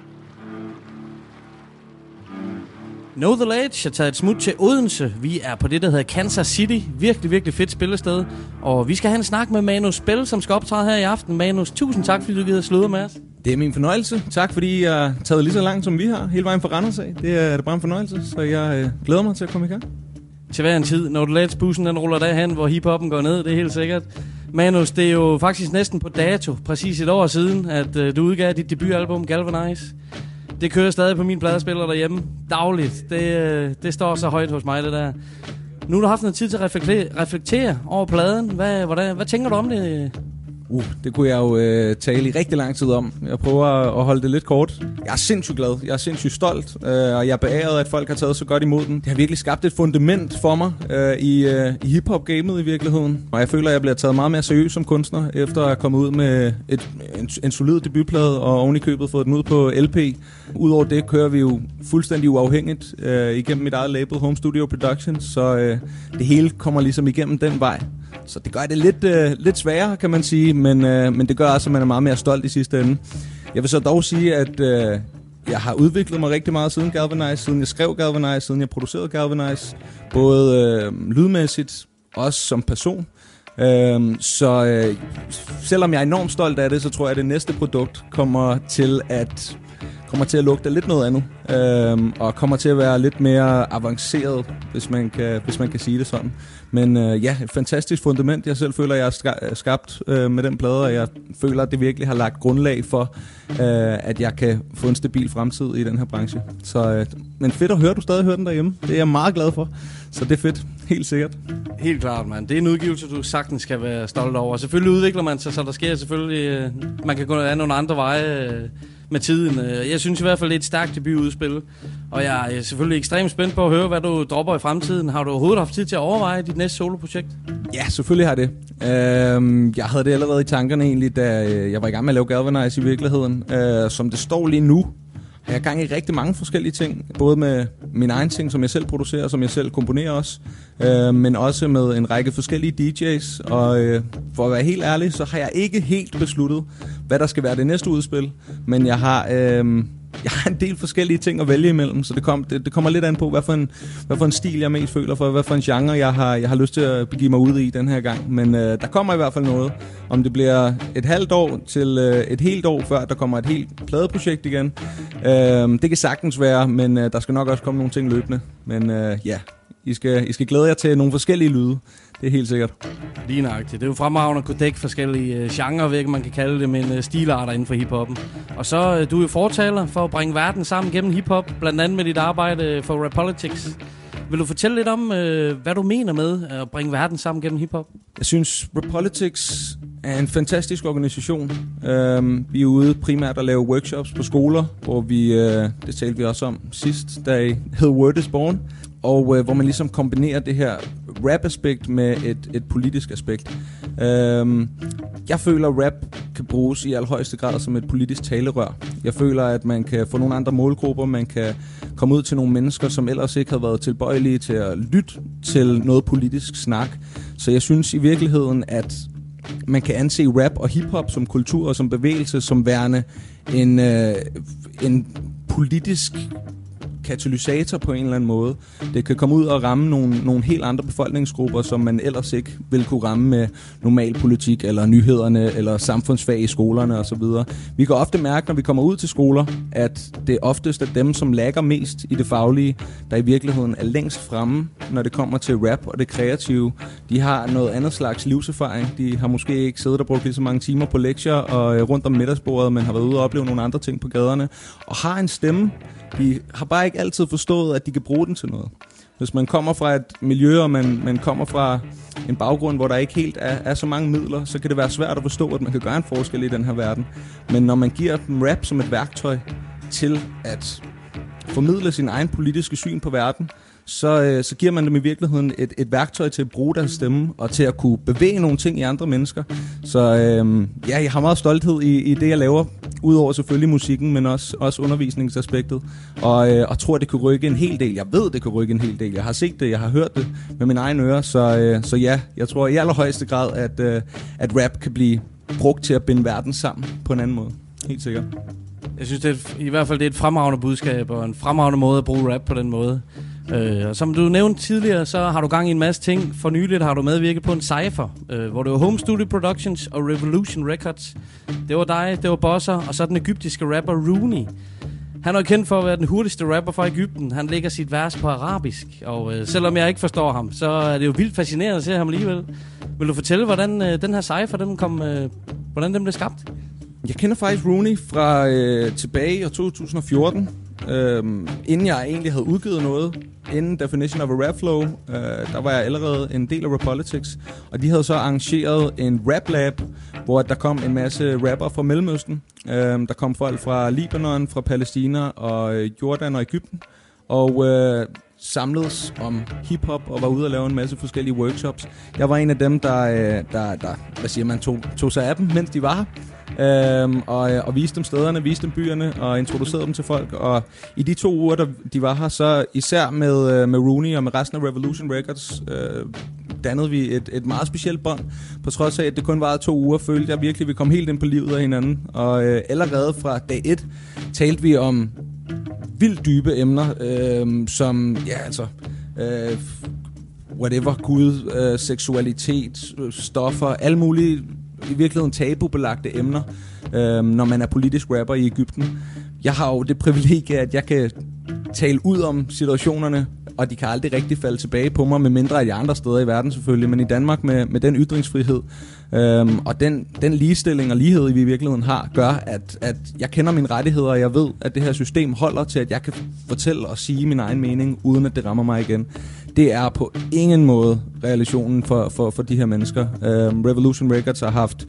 Know The Ledge har taget et smut til Odense. Vi er på det, der hedder Kansas City. Virkelig, virkelig fedt spillested. Og vi skal have en snak med Manus Spell, som skal optræde her i aften. Manus, tusind tak, fordi du gider sludre med os.
Det er min fornøjelse. Tak, fordi jeg har taget lige så langt, som vi har. Hele vejen fra Randers af. Det er bare en fornøjelse, så jeg glæder mig til at komme i gang.
Til hver en tid. Know The Ledge-bussen, den ruller derhen, hvor hiphoppen går ned. Det er helt sikkert. Manus, det er jo faktisk næsten på dato. Præcis 1 år siden, at du udgav dit debutalbum Galvanize. Det kører stadig på min pladespiller derhjemme. Dagligt. Det står så højt hos mig, det der. Nu har du haft noget tid til at reflektere over pladen. Hvad tænker du om det?
Det kunne jeg jo tale i rigtig lang tid om. Jeg prøver at holde det lidt kort. Jeg er sindssygt glad. Jeg er sindssygt stolt. Og jeg er beæret, at folk har taget så godt imod den. Det har virkelig skabt et fundament for mig i hiphop-gamet i virkeligheden. Og jeg føler, at jeg bliver taget meget mere seriøst som kunstner, efter at have kommet ud med en solid debutplade, og oven i købet fået den ud på LP. Udover det kører vi jo fuldstændig uafhængigt igennem mit eget label, Home Studio Productions. Så det hele kommer ligesom igennem den vej. Så det gør det lidt sværere, kan man sige, men det gør også, at man er meget mere stolt i sidste ende. Jeg vil så dog sige, at jeg har udviklet mig rigtig meget siden Galvanize, siden jeg skrev Galvanize, siden jeg producerede Galvanize. Både lydmæssigt, også som person. Så selvom jeg er enormt stolt af det, så tror jeg, at det næste produkt kommer til at lugte lidt noget andet, og kommer til at være lidt mere avanceret, hvis man kan sige det sådan. Men et fantastisk fundament, jeg selv føler, jeg har skabt med den plade, og jeg føler, at det virkelig har lagt grundlag for, at jeg kan få en stabil fremtid i den her branche. Så, men fedt at høre, du stadig hører den derhjemme. Det er jeg meget glad for, så det er fedt. Helt sikkert.
Helt klart, mand. Det er en udgivelse, du sagtens skal være stolt over. Selvfølgelig udvikler man sig, så der sker selvfølgelig... Man kan gå af nogle andre veje med tiden. Jeg synes i hvert fald, det er et stærkt debutudspil. Og jeg er selvfølgelig ekstremt spændt på at høre, hvad du dropper i fremtiden. Har du overhovedet haft tid til at overveje dit næste soloprojekt?
Ja, selvfølgelig har det. Jeg havde det allerede i tankerne egentlig, da jeg var i gang med at lave Galvanize i virkeligheden. Som det står lige nu, har jeg gang i rigtig mange forskellige ting. Både med min egen ting, som jeg selv producerer, som jeg selv komponerer også. Men også med en række forskellige DJ's. Og for at være helt ærlig, så har jeg ikke helt besluttet, hvad der skal være det næste udspil. Men jeg har en del forskellige ting at vælge imellem, så det kommer lidt an på, hvad for en stil jeg mest føler for, hvad for en genre jeg har lyst til at begive mig ud i den her gang. Men der kommer i hvert fald noget. Om det bliver et halvt år til et helt år, før der kommer et helt pladeprojekt igen. Det kan sagtens være, men der skal nok også komme nogle ting løbende. Men I skal glæde jer til nogle forskellige lyde. Det er helt sikkert.
Lige nøjagtigt. Det er jo fremragende at kunne dække forskellige genrer, hvilket man kan kalde det, men stilarter inden for hiphoppen. Og så du er jo fortaler for at bringe verden sammen gennem hiphop, blandt andet med dit arbejde for Rapolitics. Vil du fortælle lidt om, hvad du mener med at bringe verden sammen gennem hiphop?
Jeg synes, Rapolitics er en fantastisk organisation. Vi er ude primært at lave workshops på skoler, hvor det talte vi også om sidst, da hed Word is Born, og hvor man ligesom kombinerer det her rap-aspekt med et politisk aspekt. Jeg føler, at rap kan bruges i allerhøjeste grad som et politisk talerør. Jeg føler, at man kan få nogle andre målgrupper, man kan komme ud til nogle mennesker, som ellers ikke havde været tilbøjelige til at lytte til noget politisk snak. Så jeg synes i virkeligheden, at man kan anse rap og hiphop som kultur og som bevægelse, som værende en politisk katalysator på en eller anden måde. Det kan komme ud og ramme nogle helt andre befolkningsgrupper, som man ellers ikke vil kunne ramme med normal politik, eller nyhederne, eller samfundsfag i skolerne osv. Vi kan ofte mærke, når vi kommer ud til skoler, at det oftest er dem, som lagger mest i det faglige, der i virkeligheden er længst fremme, når det kommer til rap og det kreative. De har noget andet slags livserfaring. De har måske ikke siddet og brugt lige så mange timer på lektier og rundt om middagsbordet, men har været ude og opleve nogle andre ting på gaderne, og har en stemme. De har bare ikke altid forstået, at de kan bruge den til noget. Hvis man kommer fra et miljø, og man kommer fra en baggrund, hvor der ikke helt er så mange midler, så kan det være svært at forstå, at man kan gøre en forskel i den her verden. Men når man giver dem rap som et værktøj til at formidle sin egen politiske syn på verden, så giver man dem i virkeligheden et værktøj til at bruge deres stemme, og til at kunne bevæge nogle ting i andre mennesker. Så jeg har meget stolthed i det, jeg laver, udover selvfølgelig musikken, men også undervisningsaspektet, og tror, det kan rykke en hel del. Jeg ved, det kan rykke en hel del. Jeg har set det, jeg har hørt det med mine egne ører, så ja, jeg tror i allerhøjeste grad, at rap kan blive brugt til at binde verden sammen på en anden måde. Helt sikkert.
Jeg synes, i hvert fald det er et fremragende budskab, og en fremragende måde at bruge rap på den måde. Som du nævnte tidligere, så har du gang i en masse ting. For nyligt har du medvirket på en cypher, hvor det var Home Studio Productions og Revolution Records. Det var dig, det var Bosser, og så den egyptiske rapper Rooney. Han er kendt for at være den hurtigste rapper fra Egypten. Han lægger sit vers på arabisk, og selvom jeg ikke forstår ham, så er det jo vildt fascinerende at se ham alligevel. Vil du fortælle, hvordan den her cypher, hvordan den blev skabt?
Jeg kender faktisk Rooney fra tilbage i 2014, inden jeg egentlig havde udgivet noget. Inden Definition of a Rap Flow, der var jeg allerede en del af Rapolitics, og de havde så arrangeret en rap lab, hvor der kom en masse rapper fra Mellemøsten. Der kom folk fra Libanon, fra Palæstina og Jordan og Egypten, og samledes om hiphop og var ude og lave en masse forskellige workshops. Jeg var en af dem, der tog sig af dem, mens de var her. Og viste dem stederne, viste dem byerne og introducerede dem til folk. Og i de 2 uger, der de var her, så især med Rooney og med resten af Revolution Records, dannede vi et meget specielt bånd. På trods af, at det kun varede 2 uger, følte jeg virkelig, at vi kom helt ind på livet af hinanden. Og allerede fra dag 1 talte vi om vildt dybe emner, som, ja altså, whatever, Gud, seksualitet, stoffer, alle mulige i virkeligheden tabubelagte emner, når man er politisk rapper i Egypten. Jeg har jo det privilegie, at jeg kan tale ud om situationerne, og de kan aldrig rigtig falde tilbage på mig, med mindre af de andre steder i verden selvfølgelig, men i Danmark med den ytringsfrihed og den ligestilling og lighed, vi i virkeligheden har, gør, at jeg kender mine rettigheder, og jeg ved, at det her system holder til, at jeg kan fortælle og sige min egen mening, uden at det rammer mig igen. Det er på ingen måde realisationen for de her mennesker. Revolution Records har haft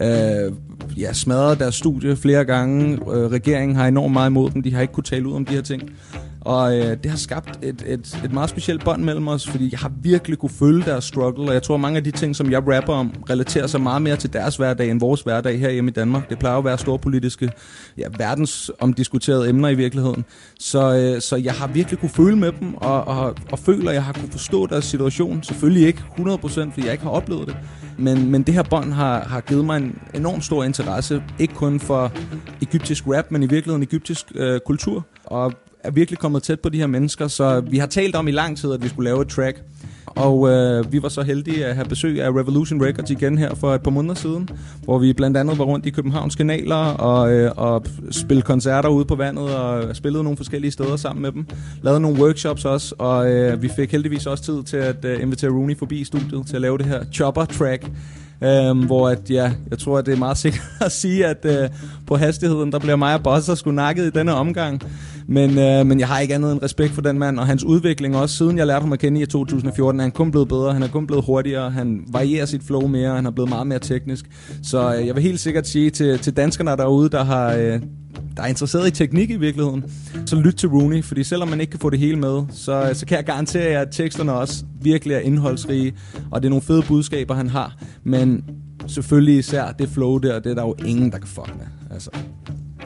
smadret deres studie flere gange. Regeringen har enormt meget imod dem. De har ikke kunnet tale ud om de her ting. Og det har skabt et meget specielt bånd mellem os, fordi jeg har virkelig kunne følge deres struggle, og jeg tror, mange af de ting, som jeg rapper om, relaterer sig meget mere til deres hverdag end vores hverdag her hjemme i Danmark. Det plejer at være storpolitiske, verdensomdiskuterede emner i virkeligheden. Så jeg har virkelig kunne føle med dem, og føler, at jeg har kunne forstå deres situation. Selvfølgelig ikke 100%, fordi jeg ikke har oplevet det. Men det her bånd har givet mig en enormt stor interesse, ikke kun for egyptisk rap, men i virkeligheden egyptisk kultur, og er virkelig kommet tæt på de her mennesker, så vi har talt om i lang tid, at vi skulle lave et track. Og vi var så heldige at have besøg af Revolution Records igen her for et par måneder siden, hvor vi blandt andet var rundt i Københavns kanaler og spillede koncerter ude på vandet og spillede nogle forskellige steder sammen med dem. Lavede nogle workshops også, og vi fik heldigvis også tid til at invitere Rooney forbi i studiet til at lave det her Chopper-track. Hvor jeg tror, at det er meget sikkert at sige, at på hastigheden, der bliver mig og Bosser sgu nakket i denne omgang. Men jeg har ikke andet end respekt for den mand, og hans udvikling også. Siden jeg lærte ham at kende i 2014, er han kun blevet bedre, han er kun blevet hurtigere, han varierer sit flow mere, han er blevet meget mere teknisk. Så jeg vil helt sikkert sige til danskerne derude, der er interesseret i teknik i virkeligheden, så lyt til Rooney, fordi selvom man ikke kan få det hele med, så kan jeg garantere jer, at teksterne også virkelig er indholdsrige, og det er nogle fede budskaber, han har. Men selvfølgelig især det flow der, det er der jo ingen, der kan fuck med. Altså.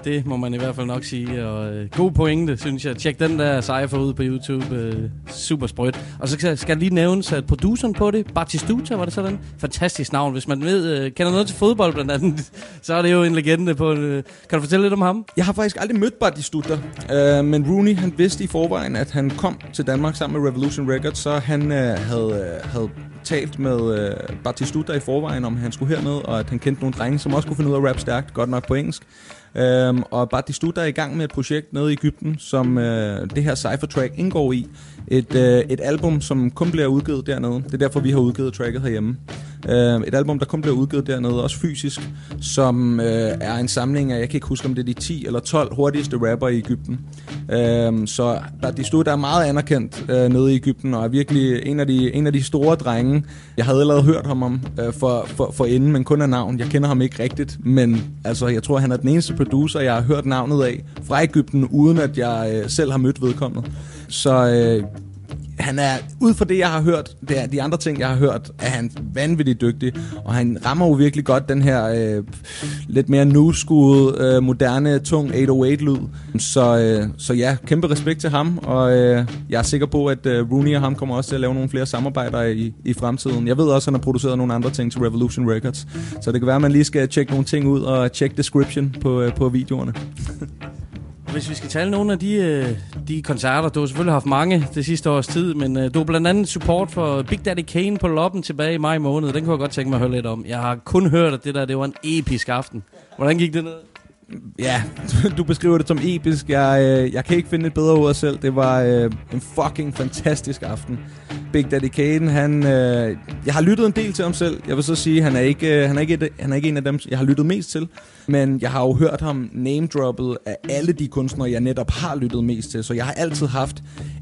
Det må man i hvert fald nok sige. Og god pointe, synes jeg. Tjek den der Cypher ud på YouTube. Super sprødt. Og så skal lige nævnes, at produceren på det, Batistuta, var det sådan? Fantastisk navn. Hvis man kender noget til fodbold blandt andet, så er det jo en legende på... Kan du fortælle lidt om ham?
Jeg har faktisk aldrig mødt Batistuta, men Rooney, han vidste i forvejen, at han kom til Danmark sammen med Revolution Records, så han havde talt med Batistuta i forvejen, om han skulle herned, og at han kendte nogle drenge, som også kunne finde ud af at rappe stærkt, godt nok på engelsk. Og Batistuta er i gang med et projekt nede i Egypten, som det her Cypher track indgår i. Et album, som kun bliver udgivet dernede. Det er derfor, vi har udgivet tracket herhjemme. Et album, der kun bliver udgivet dernede, også fysisk, som er en samling af, jeg kan ikke huske, om det er de 10 eller 12 hurtigste rapper i Egypten. Så Batistuta er meget anerkendt nede i Egypten, og er virkelig en af de store drenge. Jeg havde allerede hørt ham om for inden, men kun af navn. Jeg kender ham ikke rigtigt, men altså, jeg tror, han er den eneste producer, jeg har hørt navnet af fra Egypten, uden at jeg selv har mødt vedkommende. Så han er, ud fra det, jeg har hørt, de andre ting, jeg har hørt, er han vanvittigt dygtig, og han rammer jo virkelig godt den her lidt mere new school, moderne, tung 808-lyd. Så ja, kæmpe respekt til ham, og jeg er sikker på, at Rooney og ham kommer også til at lave nogle flere samarbejder i fremtiden. Jeg ved også, at han har produceret nogle andre ting til Revolution Records, så det kan være, at man lige skal tjekke nogle ting ud og tjekke description på videoerne.
Hvis vi skal tale nogle af de koncerter, du har selvfølgelig haft mange det sidste års tid, men du har blandt andet support for Big Daddy Kane på Loppen tilbage i maj måned. Den kunne jeg godt tænke mig at høre lidt om. Jeg har kun hørt, at det var en episk aften. Hvordan gik det ned?
Ja, du beskriver det som episk. Jeg kan ikke finde et bedre ord selv. Det var en fucking fantastisk aften. Big Daddy Kane, jeg har lyttet en del til ham selv. Jeg vil så sige, han er ikke en af dem, jeg har lyttet mest til. Men jeg har jo hørt ham name-droppet af alle de kunstnere, jeg netop har lyttet mest til. Så jeg har altid haft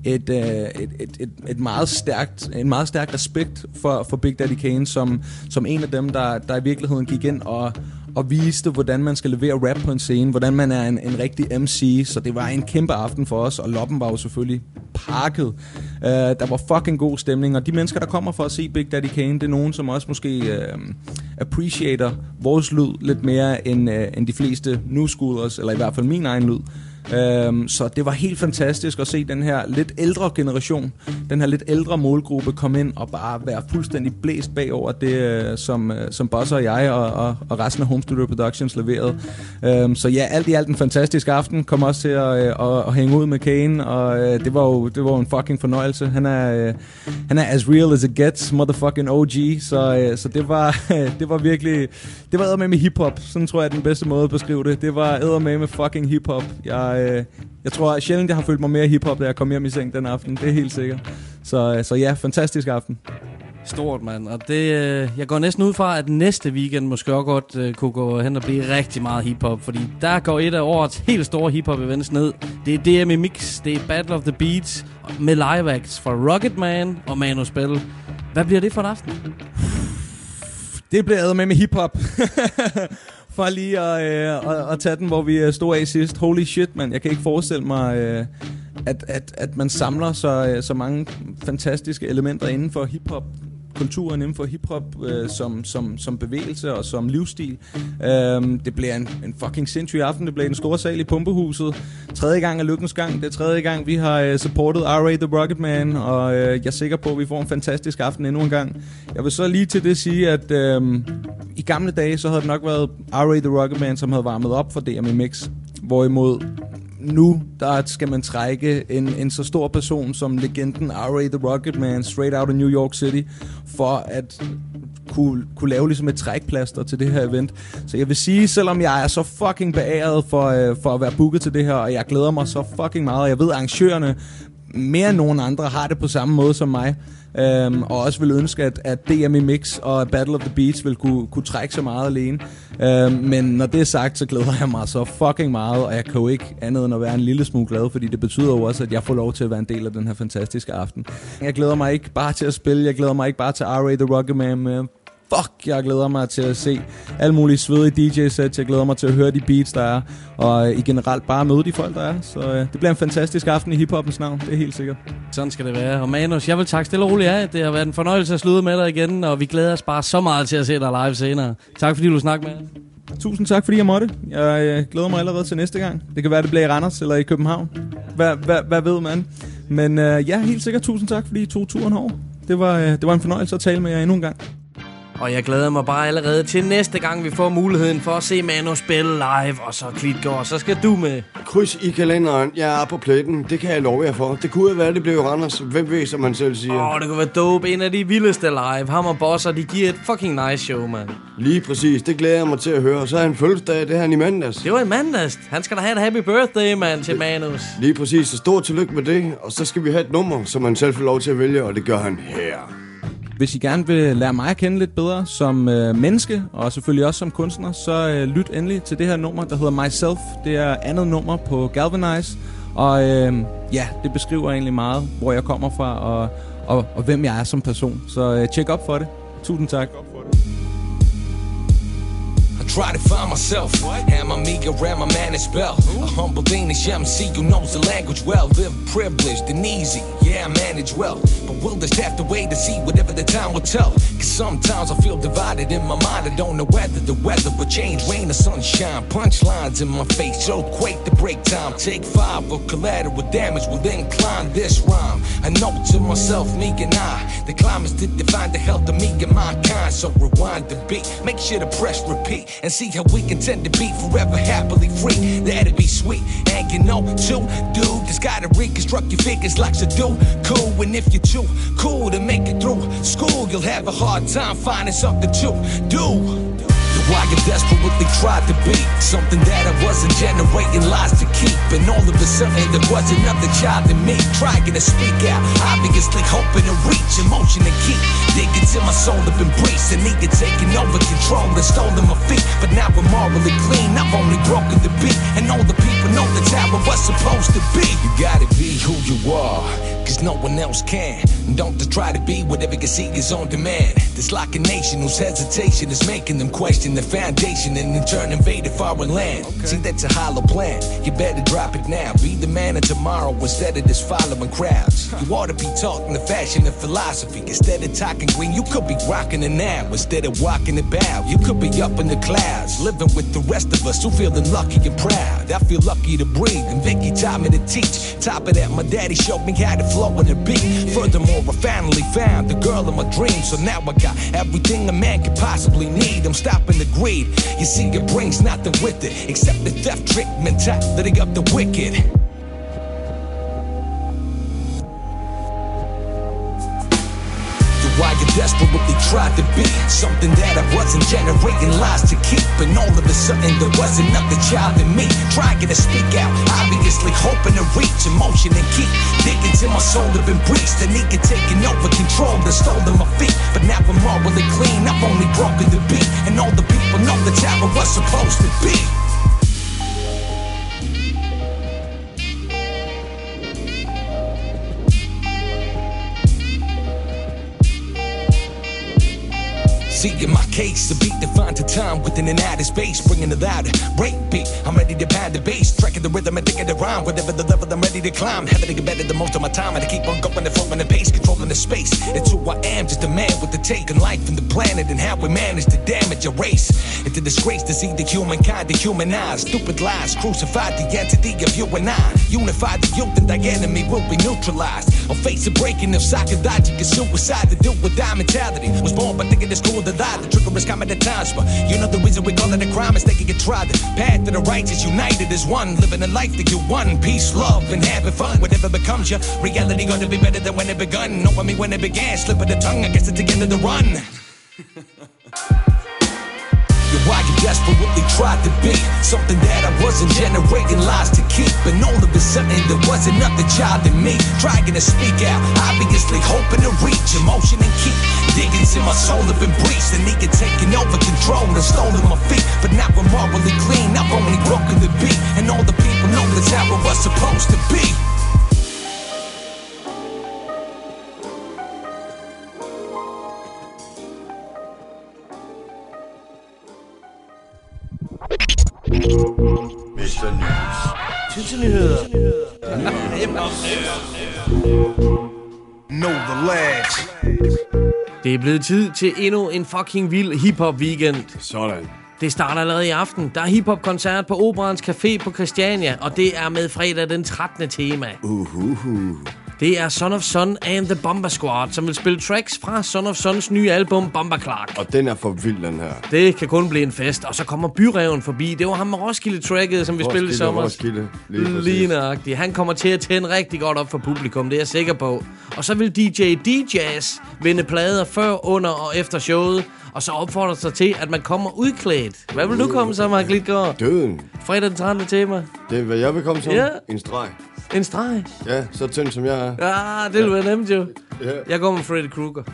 en meget stærk respekt for Big Daddy Kane, som en af dem, der i virkeligheden gik ind og viste, hvordan man skal levere rap på en scene, hvordan man er en rigtig MC, så det var en kæmpe aften for os, og Loppen var jo selvfølgelig pakket. Der var fucking god stemning, og de mennesker, der kommer for at se Big Daddy Kane, det er nogen, som også måske appreciater vores lyd lidt mere end de fleste new schoolers, eller i hvert fald min egen lyd. Så det var helt fantastisk at se den her lidt ældre generation, den her lidt ældre målgruppe komme ind og bare være fuldstændig blæst bagover det, som Boss og jeg og resten af Home Studio Productions leverede. Så ja, alt i alt en fantastisk aften. Kom også til at hænge ud med Kane, og det var jo en fucking fornøjelse. Han er as real as it gets, motherfucking OG, så det var virkelig, det var eddermame med hiphop. Sådan tror jeg er den bedste måde at beskrive det. Det var eddermame med fucking hiphop. Jeg tror sjældent, jeg har følt mig mere hiphop, da jeg kom hjem i seng den aften. Det er helt sikkert. Så ja, fantastisk aften.
Stort, mand. Og det, jeg går næsten ud fra, at næste weekend måske også godt kunne gå hen og blive rigtig meget hiphop. Fordi der går et af årets helt store hiphop-events ned. Det er DME Mix, det er Battle of the Beats med live acts fra Rocketman og Manu Spell. Hvad bliver det for en aften?
Det bliver med hiphop. For lige at tage den, hvor vi stod af sidst. Holy shit, man. Jeg kan ikke forestille mig, at man samler så mange fantastiske elementer inden for hiphop. Kulturen inden for hiphop som bevægelse og som livsstil. Det bliver en fucking sindssyg aften. Det bliver en stor sal i Pumpehuset. 3. gang er lykkens gang. Det er 3. gang, vi har supportet R.A. The Rocketman, og jeg er sikker på, at vi får en fantastisk aften endnu en gang. Jeg vil så lige til det sige, at i gamle dage, så havde det nok været R.A. The Rocketman, som havde varmet op for DME Mix. Hvorimod nu, der skal man trække en så stor person som legenden R.A. The Rocketman, straight out of New York City, for at kunne lave ligesom et trækplaster til det her event. Så jeg vil sige, selvom jeg er så fucking beæret for at være booket til det her, og jeg glæder mig så fucking meget, og jeg ved, at arrangørerne mere end nogen andre har det på samme måde som mig, og også vil ønske, at DME Mix og Battle of the Beats vil kunne trække så meget alene. Men når det er sagt, så glæder jeg mig så fucking meget, og jeg kan jo ikke andet end at være en lille smule glad, fordi det betyder jo også, at jeg får lov til at være en del af den her fantastiske aften. Jeg glæder mig ikke bare til at spille, jeg glæder mig ikke bare til R.A. The Rocketman, jeg glæder mig til at se alle mulige svedige DJ-sets. Jeg glæder mig til at høre de beats, der er. Og i generelt bare møde de folk, der er. Så det bliver en fantastisk aften i hiphoppens navn. Det er helt sikkert.
Sådan skal det være. Og Manus, jeg vil takke stille og roligt af. Det har været en fornøjelse at slutte med dig igen. Og vi glæder os bare så meget til at se dig live senere. Tak fordi du snakkede med.
Tusind tak, fordi jeg måtte. Jeg glæder mig allerede til næste gang. Det kan være, det bliver i Randers eller i København. Hvad ved man? Men ja, helt sikkert tusind tak, fordi I tog turen over. Det var en fornøjelse at tale med jer endnu en gang.
Og jeg glæder mig bare allerede til næste gang, vi får muligheden for at se Manu spille live. Og så Klitgaard, så skal du med.
Kryds i kalenderen. Jeg er på pletten. Det kan jeg love jer for. Det kunne være, det blev Randers. Hvem ved, som man selv siger.
Det kunne være dope. En af de vildeste live. Ham og Bosser, de giver et fucking nice show, mand.
Lige præcis. Det glæder jeg mig til at høre. Så er han fødselsdag. Det er han i mandags.
Det var i mandags. Han skal da have et happy birthday, mand, til Manus.
Lige præcis. Så stort tillykke med det. Og så skal vi have et nummer, som man selv får lov til at vælge. Og det gør han her.
Hvis I gerne vil lære mig at kende lidt bedre som menneske, og selvfølgelig også som kunstner, så lyt endelig til det her nummer, der hedder Myself. Det er andet nummer på Galvanize, og ja, det beskriver egentlig meget, hvor jeg kommer fra, og hvem jeg er som person. Så tjek op for det. Tusind tak.
Try to find myself, have my meager around my man as well. A humble Danish MC who knows the language well. Live privileged and easy, yeah, I manage well. But we'll just have to wait to see whatever the time will tell. Cause sometimes I feel divided in my mind. I don't know whether the weather will change, rain or sunshine. Punchlines in my face, earthquake to break time. Take 5 of collateral damage will incline this rhyme. I know to myself, me and I, the climate's to define the health of me and mankind. So rewind the beat, make sure to press repeat. And see how we can tend to be forever happily free. That'd be sweet. And you know, too, dude, just gotta reconstruct your figures like to do. Cool, and if you're too cool to make it through school, you'll have a hard time finding something to do. Why I desperately tried to be something that I wasn't, generating lies to keep. And all of a sudden there was another child in me, trying to speak out, obviously hoping to reach emotion and keep digging till my soul have been breached. And nigga taking over control and stolen my feet. But now I'm morally clean, I've only broken the beat. And all the people know that's how it was supposed to be. You gotta be who you are, cause no one else can. And don't just try to be whatever you see is on demand. It's like a nation whose hesitation is making them question the foundation and in turn invade a foreign land. See, that's a hollow plan. You better drop it now. Be the man of tomorrow instead of just following crowds. You ought to be talking the fashion and philosophy instead of talking green. You could be rocking it now instead of walking it bow. You could be up in the clouds, living with the rest of us who feeling lucky and proud. I feel lucky to breathe, and Vicky taught me to teach. Top of that, my daddy showed me how to flow in the beat. Furthermore, I finally found the girl of my dreams. So now I got everything a man could possibly need. I'm stopping the greed. You see, it brings nothing with it except the theft, trick mentality of the wicked. Why you desperately tried to be something that I wasn't, generating lies to keep. And all of a sudden there was another child in me, trying to speak out, obviously hoping to reach emotion and keep digging till my soul have been breached. And he had taken over control and stolen my feet. But now I'm morally clean, I've only broken the beat. And all the people know that's how it was supposed to be. See, in my case, the beat defines the time within an outer space, bringing it louder. Break beat, I'm ready to pound the bass, tracking the rhythm and thinking the rhyme. Whatever the level, I'm ready to climb. Having to get better than most of my time, and I keep on going and flowing the pace, controlling the space. It's who I am, just a man with the take on life and the planet, and how we manage to damage a race. It's a disgrace to see the humankind dehumanized. Stupid lies crucified the entity of you and I. Unify the youth and the enemy will be neutralized. I'll face a breaking of psychological suicide to do with die mentality. Was born by thinking it's cool to lie. The trigger is coming at times, but you know the reason we call it a crime is they can get tried. The path to the righteous united as one, living a life that you won. Peace, love, and having fun. Whatever becomes your reality, gonna be better than when it begun. Know me when it began, slip of the tongue. I guess it's the end of the run. Why you desperately tried to be something that I wasn't, generating lies to keep. And all of a sudden there was another child in me, trying to speak out, obviously hoping to reach emotion and keep digging till my soul have been breached. And he had taken over control and stolen my feet. But now I'm morally clean, I've only broken the beat. And all the people know that's how it was supposed to be.
Mr. News.
Tidsnyheder.
Know the lads.
Det er blevet tid til endnu en fucking vild hip-hop weekend.
Sådan.
Det starter allerede i aften. Der er hiphop-koncert på Operans Café på Christiania, og det er med fredag den 13. tema. Det er Son of Son and the Bomba Squad, som vil spille tracks fra Son of Sons nye album Bomba Clark.
Og den er for vild, den her.
Det kan kun blive en fest. Og så kommer Byreven forbi. Det var ham med Roskilde-tracket, som vi spillede i sommer.
Roskilde,
lige nøjagtigt. Han kommer til at tænde rigtig godt op for publikum, det er jeg sikker på. Og så vil DJ DJs vinde plader før, under og efter showet. Og så opfordrer sig til, at man kommer udklædt. Hvad vil du komme som, Mark Lidgaard?
Døden.
Fredag den 13. tema.
Det er, hvad jeg vil komme som.
Ja.
En streg.
En streg?
Ja, så tynd som jeg er.
Ja, det vil være nemt jo.
Ja.
Jeg går med Freddy Krueger.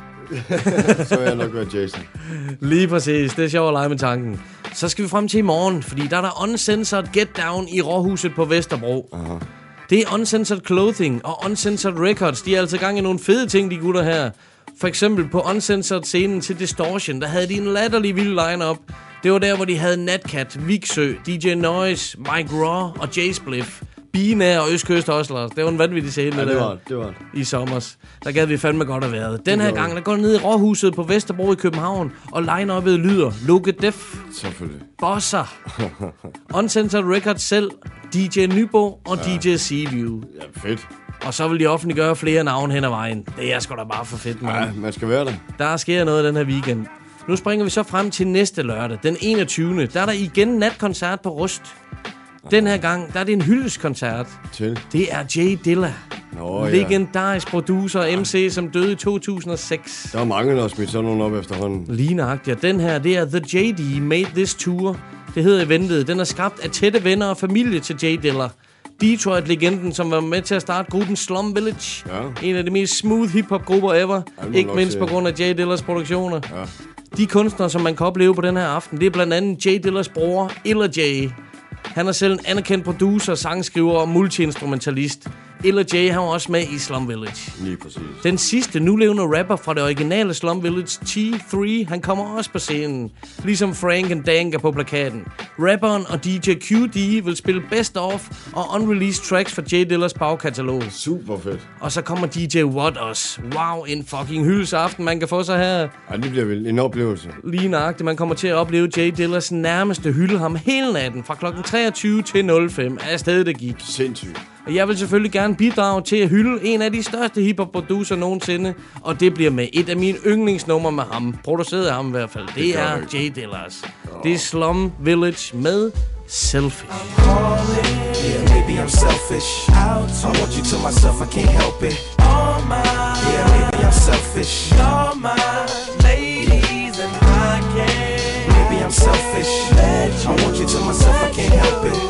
Så vil jeg nok være Jason.
Lige præcis. Det er sjovt at lege med tanken. Så skal vi frem til i morgen, fordi der er der Uncensored Get Down i Råhuset på Vesterbro.
Aha.
Det er Uncensored Clothing og Uncensored Records. De er altså gang i nogle fede ting, de gutter her. For eksempel på Uncensored scenen til Distortion, der havde de en latterlig vild line-up. Det var der, hvor de havde Natcat, Viksø, DJ Noise, Mike Raw og Jay Spliff. Binær og Østkyst Hustlers. Det var en vanvittig scene.
Ja, det var det.
I sommers. Der gad vi fandme godt at være. Den her gang, der går ned i Råhuset på Vesterbro i København, og line-up'et lyder Loke Def,
selvfølgelig,
Bosser, Uncensored Records selv, DJ Nybo og DJ Seaview.
Ja, fedt.
Og så vil de offentliggøre flere navne hen ad vejen. Det er sgu da bare for fedt, man.
Ja, man skal være der.
Der sker noget den her weekend. Nu springer vi så frem til næste lørdag, den 21. Der er der igen natkoncert på Rust. Den her gang, der er det en hyldestkoncert.
Til?
Det er Jay Dilla.
Nå, ja.
Legendarisk producer og MC, som døde i 2006.
Der er mange, der har smidt sådan nogle op efterhånden.
Lige nøjagtigt. Den her, det er The JD Made This Tour. Det hedder eventet. Den er skabt af tætte venner og familie til Jay Dilla. Detroit-legenden, som var med til at starte gruppen Slum Village. Ja. En af de mest smooth hip-hop-grupper ever. Ikke mindst på grund af Jay Dillas produktioner. Ja. De kunstnere, som man kan opleve på den her aften, det er blandt andet Jay Dillas bror, Illa Jay. Han er selv en anerkendt producer, sangskriver og multiinstrumentalist. Illa Jay, han var også med i Slum Village.
Lige præcis.
Den sidste nulevende rapper fra det originale Slum Village, T3, han kommer også på scenen. Ligesom Frank and Dank er på plakaten. Rapperen og DJ QD vil spille best of og unreleased tracks fra Jay Dillas bagkatalog.
Super fedt.
Og så kommer DJ Watt også. Wow, en fucking hyldesaften, man kan få sig her.
Ja, det bliver vel en oplevelse.
Lige nøjagtigt, man kommer til at opleve Jay Dillas nærmeste hylde ham hele natten fra klokken 23 til 05. Er afsted det gik.
Sindssygt.
Og jeg vil selvfølgelig gerne bidrage til at hylde en af de største hiphop-producer nogensinde. Og det bliver med et af mine yndlingsnumre med ham. Produceret af ham i hvert fald. Det er Jay Dillas. Det er Slum Village med Selfish.
Yeah, maybe I'm selfish. I want you to myself, I can't help it. Yeah, maybe I'm selfish. You're my ladies and I can't. Maybe I'm selfish. I want you to myself, I can't help it.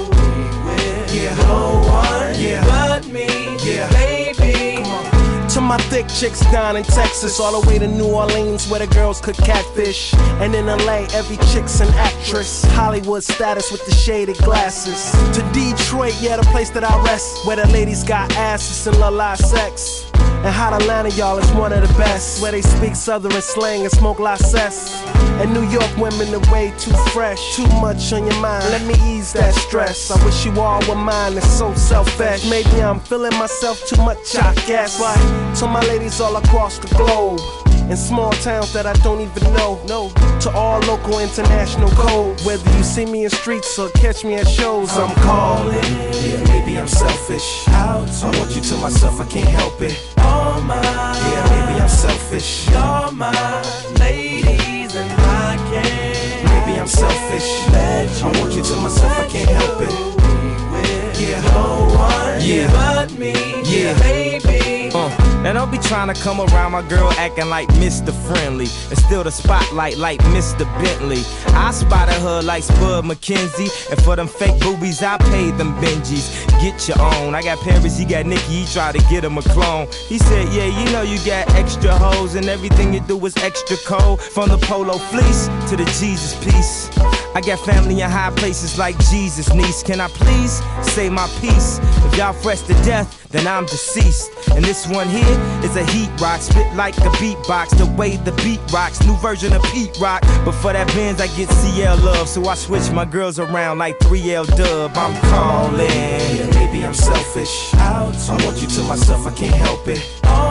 Yeah, no one but me, yeah, baby.
To my thick chicks down in Texas, all the way to New Orleans where the girls could catfish. And in LA, every chick's an actress. Hollywood status with the shaded glasses. To Detroit, yeah, the place that I rest, where the ladies got asses and love live sex. And Hot Atlanta, y'all, is one of the best, where they speak Southern slang and smoke license. And New York women are way too fresh, too much on your mind. Let me ease that stress. I wish you all were mine, it's so selfish. Maybe I'm feeling myself too much, I guess. But to my ladies all across the globe, in small towns that I don't even know, no. To all local international code, whether you see me in streets or catch me at shows, I'm calling.
Yeah, maybe I'm selfish. I want you to myself, I can't help it. Yeah, maybe I'm selfish. You're my ladies and I can't. Maybe I'm selfish. I want you to myself, I can't help it. Yeah, no one but me, yeah, baby.
Now don't be trying to come around my girl acting like Mr. Friendly and steal the spotlight like Mr. Bentley. I spotted her like Spud McKenzie, and for them fake boobies I paid them Benjis. Get your own. I got Paris, he got Nicki, he tried to get him a clone. He said, yeah, you know you got extra hoes and everything you do is extra cold. From the polo fleece to the Jesus piece. I got family in high places like Jesus, niece. Can I please say my piece? If y'all fresh to death, then I'm deceased. And this one here is a heat rock, spit like a beatbox, the way the beat rocks, new version of Pete Rock. But for that Benz I get CL love, so I switch my girls around like 3L Dub. I'm calling.
Yeah, maybe I'm selfish. I want you to myself, I can't help it.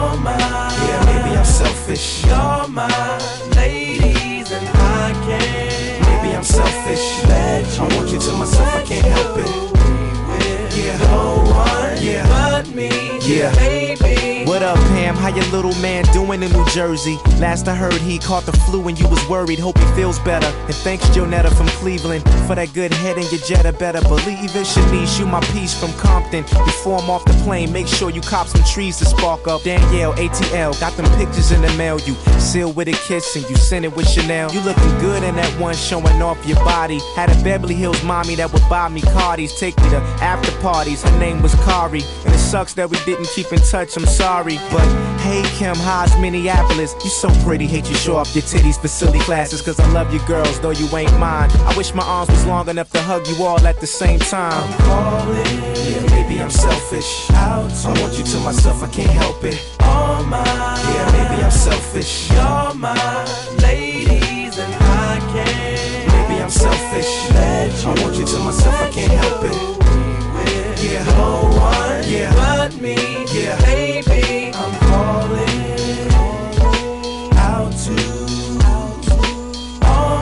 Yeah, maybe I'm selfish. You're my ladies and I can't. Maybe I'm selfish. you to myself, I can't help it. Yeah, no one but me. Yeah, baby.
What up, Pam? How your little man doing in New Jersey? Last I heard, he caught the flu and you was worried. Hope he feels better. And thanks, Jonetta from Cleveland, for that good head in your Jetta. Better believe it. Shanice, you my piece from Compton. Before I'm off the plane, make sure you cop some trees to spark up. Danielle, ATL, got them pictures in the mail. You sealed with a kiss and you sent it with Chanel. You looking good in that one, showing off your body. Had a Beverly Hills mommy that would buy me Cardis, take me to after parties. Her name was Kari, and it sucks that we didn't keep in touch. I'm sorry, but hey Kim, how's Minneapolis? You so pretty, hate you show off your titties for silly classes. Cause I love you girls, though you ain't mine. I wish my arms was long enough to hug you all at the same time.
I'm calling, yeah, maybe I'm selfish. I want you to myself, I can't help it. All mine, yeah, maybe I'm selfish. You're my ladies and I can't. Maybe I'm selfish. I want you to myself, I can't help it. Yeah, no one but me. Yeah, baby, I'm calling out to all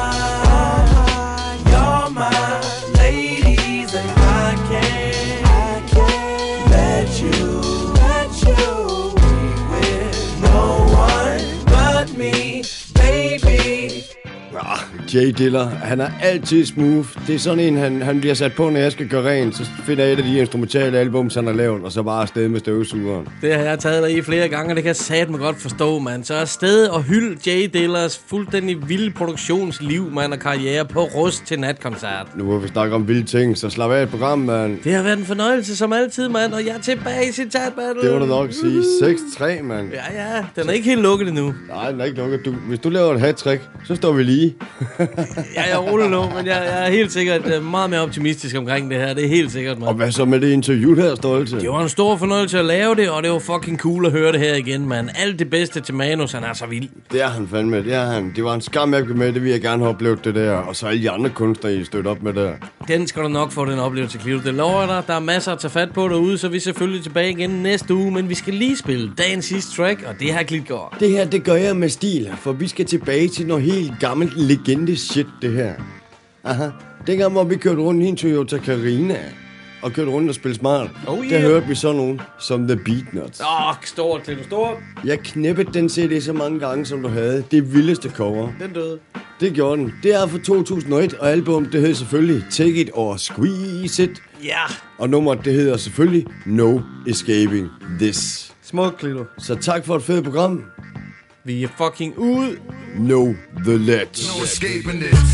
you're my ladies, and I can't let you be with no one but me, baby.
Jay Diller, han er altid smooth. Det er sådan en, han bliver sat på, når jeg skal gøre rent. Så finder jeg et af de instrumentale albums, han har lavet, og så bare afsted med støvsugeren.
Det har jeg taget dig i flere gange, og det kan jeg satme godt forstå, mand. Så afsted og hylde Jay Dillers fuldstændig vilde produktionsliv, mand, og karriere på Rust til natkoncert.
Nu hvor vi snakker om vilde ting, så slap af et program, mand.
Det har været en fornøjelse som altid, mand, og jeg er tilbage i Citat Battle.
Det var da nok at sige. 6-3, mand.
Ja, den er ikke helt lukket endnu.
Nej, den er ikke lukket. Hvis du laver et hat-trick, så står vi lige.
Ja, jeg ruller nu, men jeg er helt sikkert meget mere optimistisk omkring det her. Det er helt sikkert, mand.
Og hvad så med det interview her, Stolte?
Det var en stor fornøjelse at lave det, og det var fucking cool at høre det her igen, mand. Alt det bedste til Manus, han er så vild.
Det er han fandme, det er han. Det var en skam, jeg blev med, det vil jeg gerne have oplevet det der. Og så alle de andre kunstnere, I støtte op med der.
Den skal du nok få, den oplevelse, Clio. Det lover dig. Der er masser at tage fat på derude, så vi er selvfølgelig tilbage igen næste uge. Men vi skal lige spille dagens sidste track, og det her Klitgaard.
Det her, det gør jeg med stil, for vi skal tilbage til noget helt gammelt legende shit, det her. Aha. Dengang, hvor vi kørte rundt i en Toyota Carina og kørte rundt og spille smart, der hørte vi så nogen som The Beatnuts.
Stort til du stort.
Jeg knæppede den CD så mange gange, som du havde. Det vildeste cover.
Den døde.
Det gjorde den. Det er fra 2001, og album, det hedder selvfølgelig Take It or Squeeze It.
Ja.
Og nummeret, det hedder selvfølgelig No Escaping This.
Smuk, Klito.
Så tak for et fedt program.
Vi er fucking ude.
Know the ledge.
No escaping this.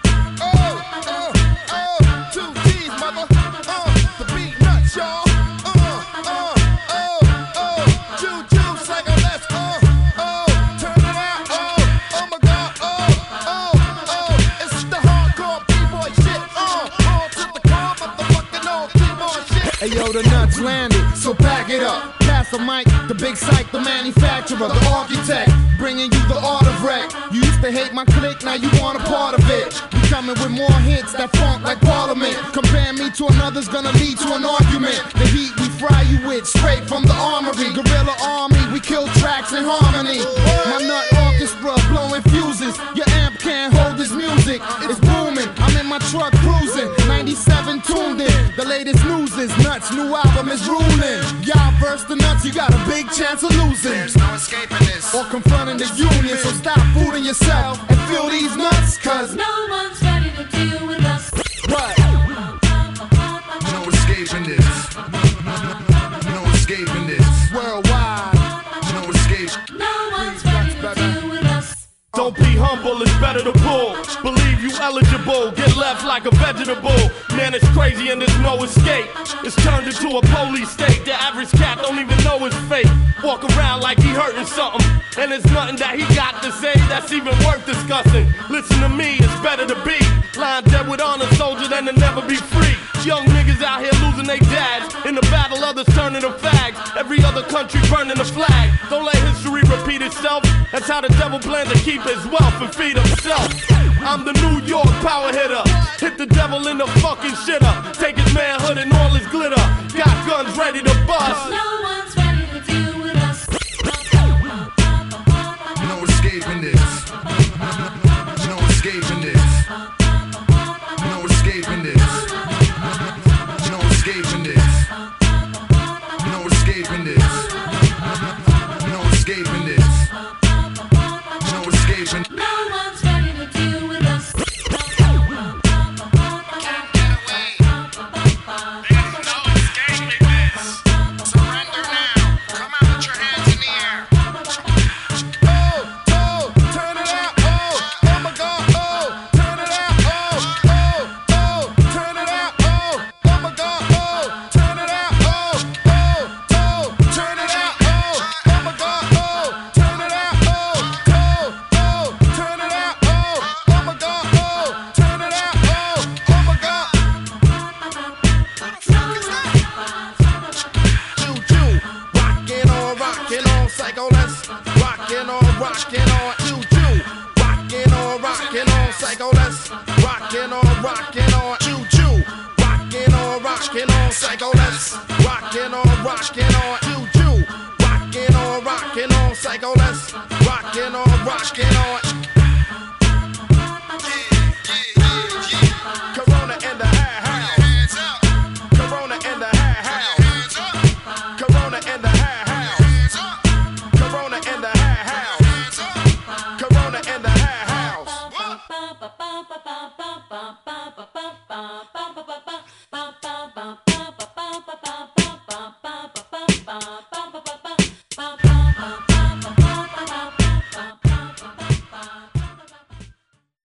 Hey yo, the nuts landed, so back it up. Pass the mic, the big psych, the manufacturer, the architect, bringing you the art of wreck. You used to hate my clique, now you want a part of it. We coming with more hits that funk like Parliament. Compare me to another's gonna lead to an argument. The heat we fry you with, straight from the armory. Guerrilla army, we kill tracks in harmony. My nut orchestra blowing fuses. Your amp can't hold this music, it's booming. I'm in my truck cruising, 97 tuned in. The latest news is nuts, new album is ruling. Y'all verse the nuts, you got a big chance of losing.
There's no escaping this.
Or confronting the union, so stop fooling yourself and feel these nuts, cause
no one's ready to deal with us.
What?
No escaping this. No escaping this.
Worldwide.
No escape.
No one's ready to deal with us.
Don't be humble, it's better to pull. Believe you eligible, get left like a vegetable. Man, it's crazy and there's no escape. It's turned into a police state. The average cat don't even know his fate. Walk around like he hurting something, and there's nothing that he got to say that's even worth discussing. Listen to me, it's better to be lying dead with honor, soldier, than to never be free. Young niggas out here losing their dads. In the battle, others turning to fags. Every other country burning the flag. Don't let history repeat itself. That's how the devil plans to keep his wealth and feed himself. I'm the New York power hitter. Hit the devil in the fucking shitter. Take his manhood and all his glitter. Got guns ready to bust.
No one's ready to deal with us.
No escaping this. No escaping this. No escaping
on, psycho, let's rockin' on, choo choo. Rockin' on, psycho, let's rockin' on, choo choo. Rockin' on, psycho, let's rockin' on. Corona in the house. Corona in the house. Corona in the house. Corona in the house. Corona in the house.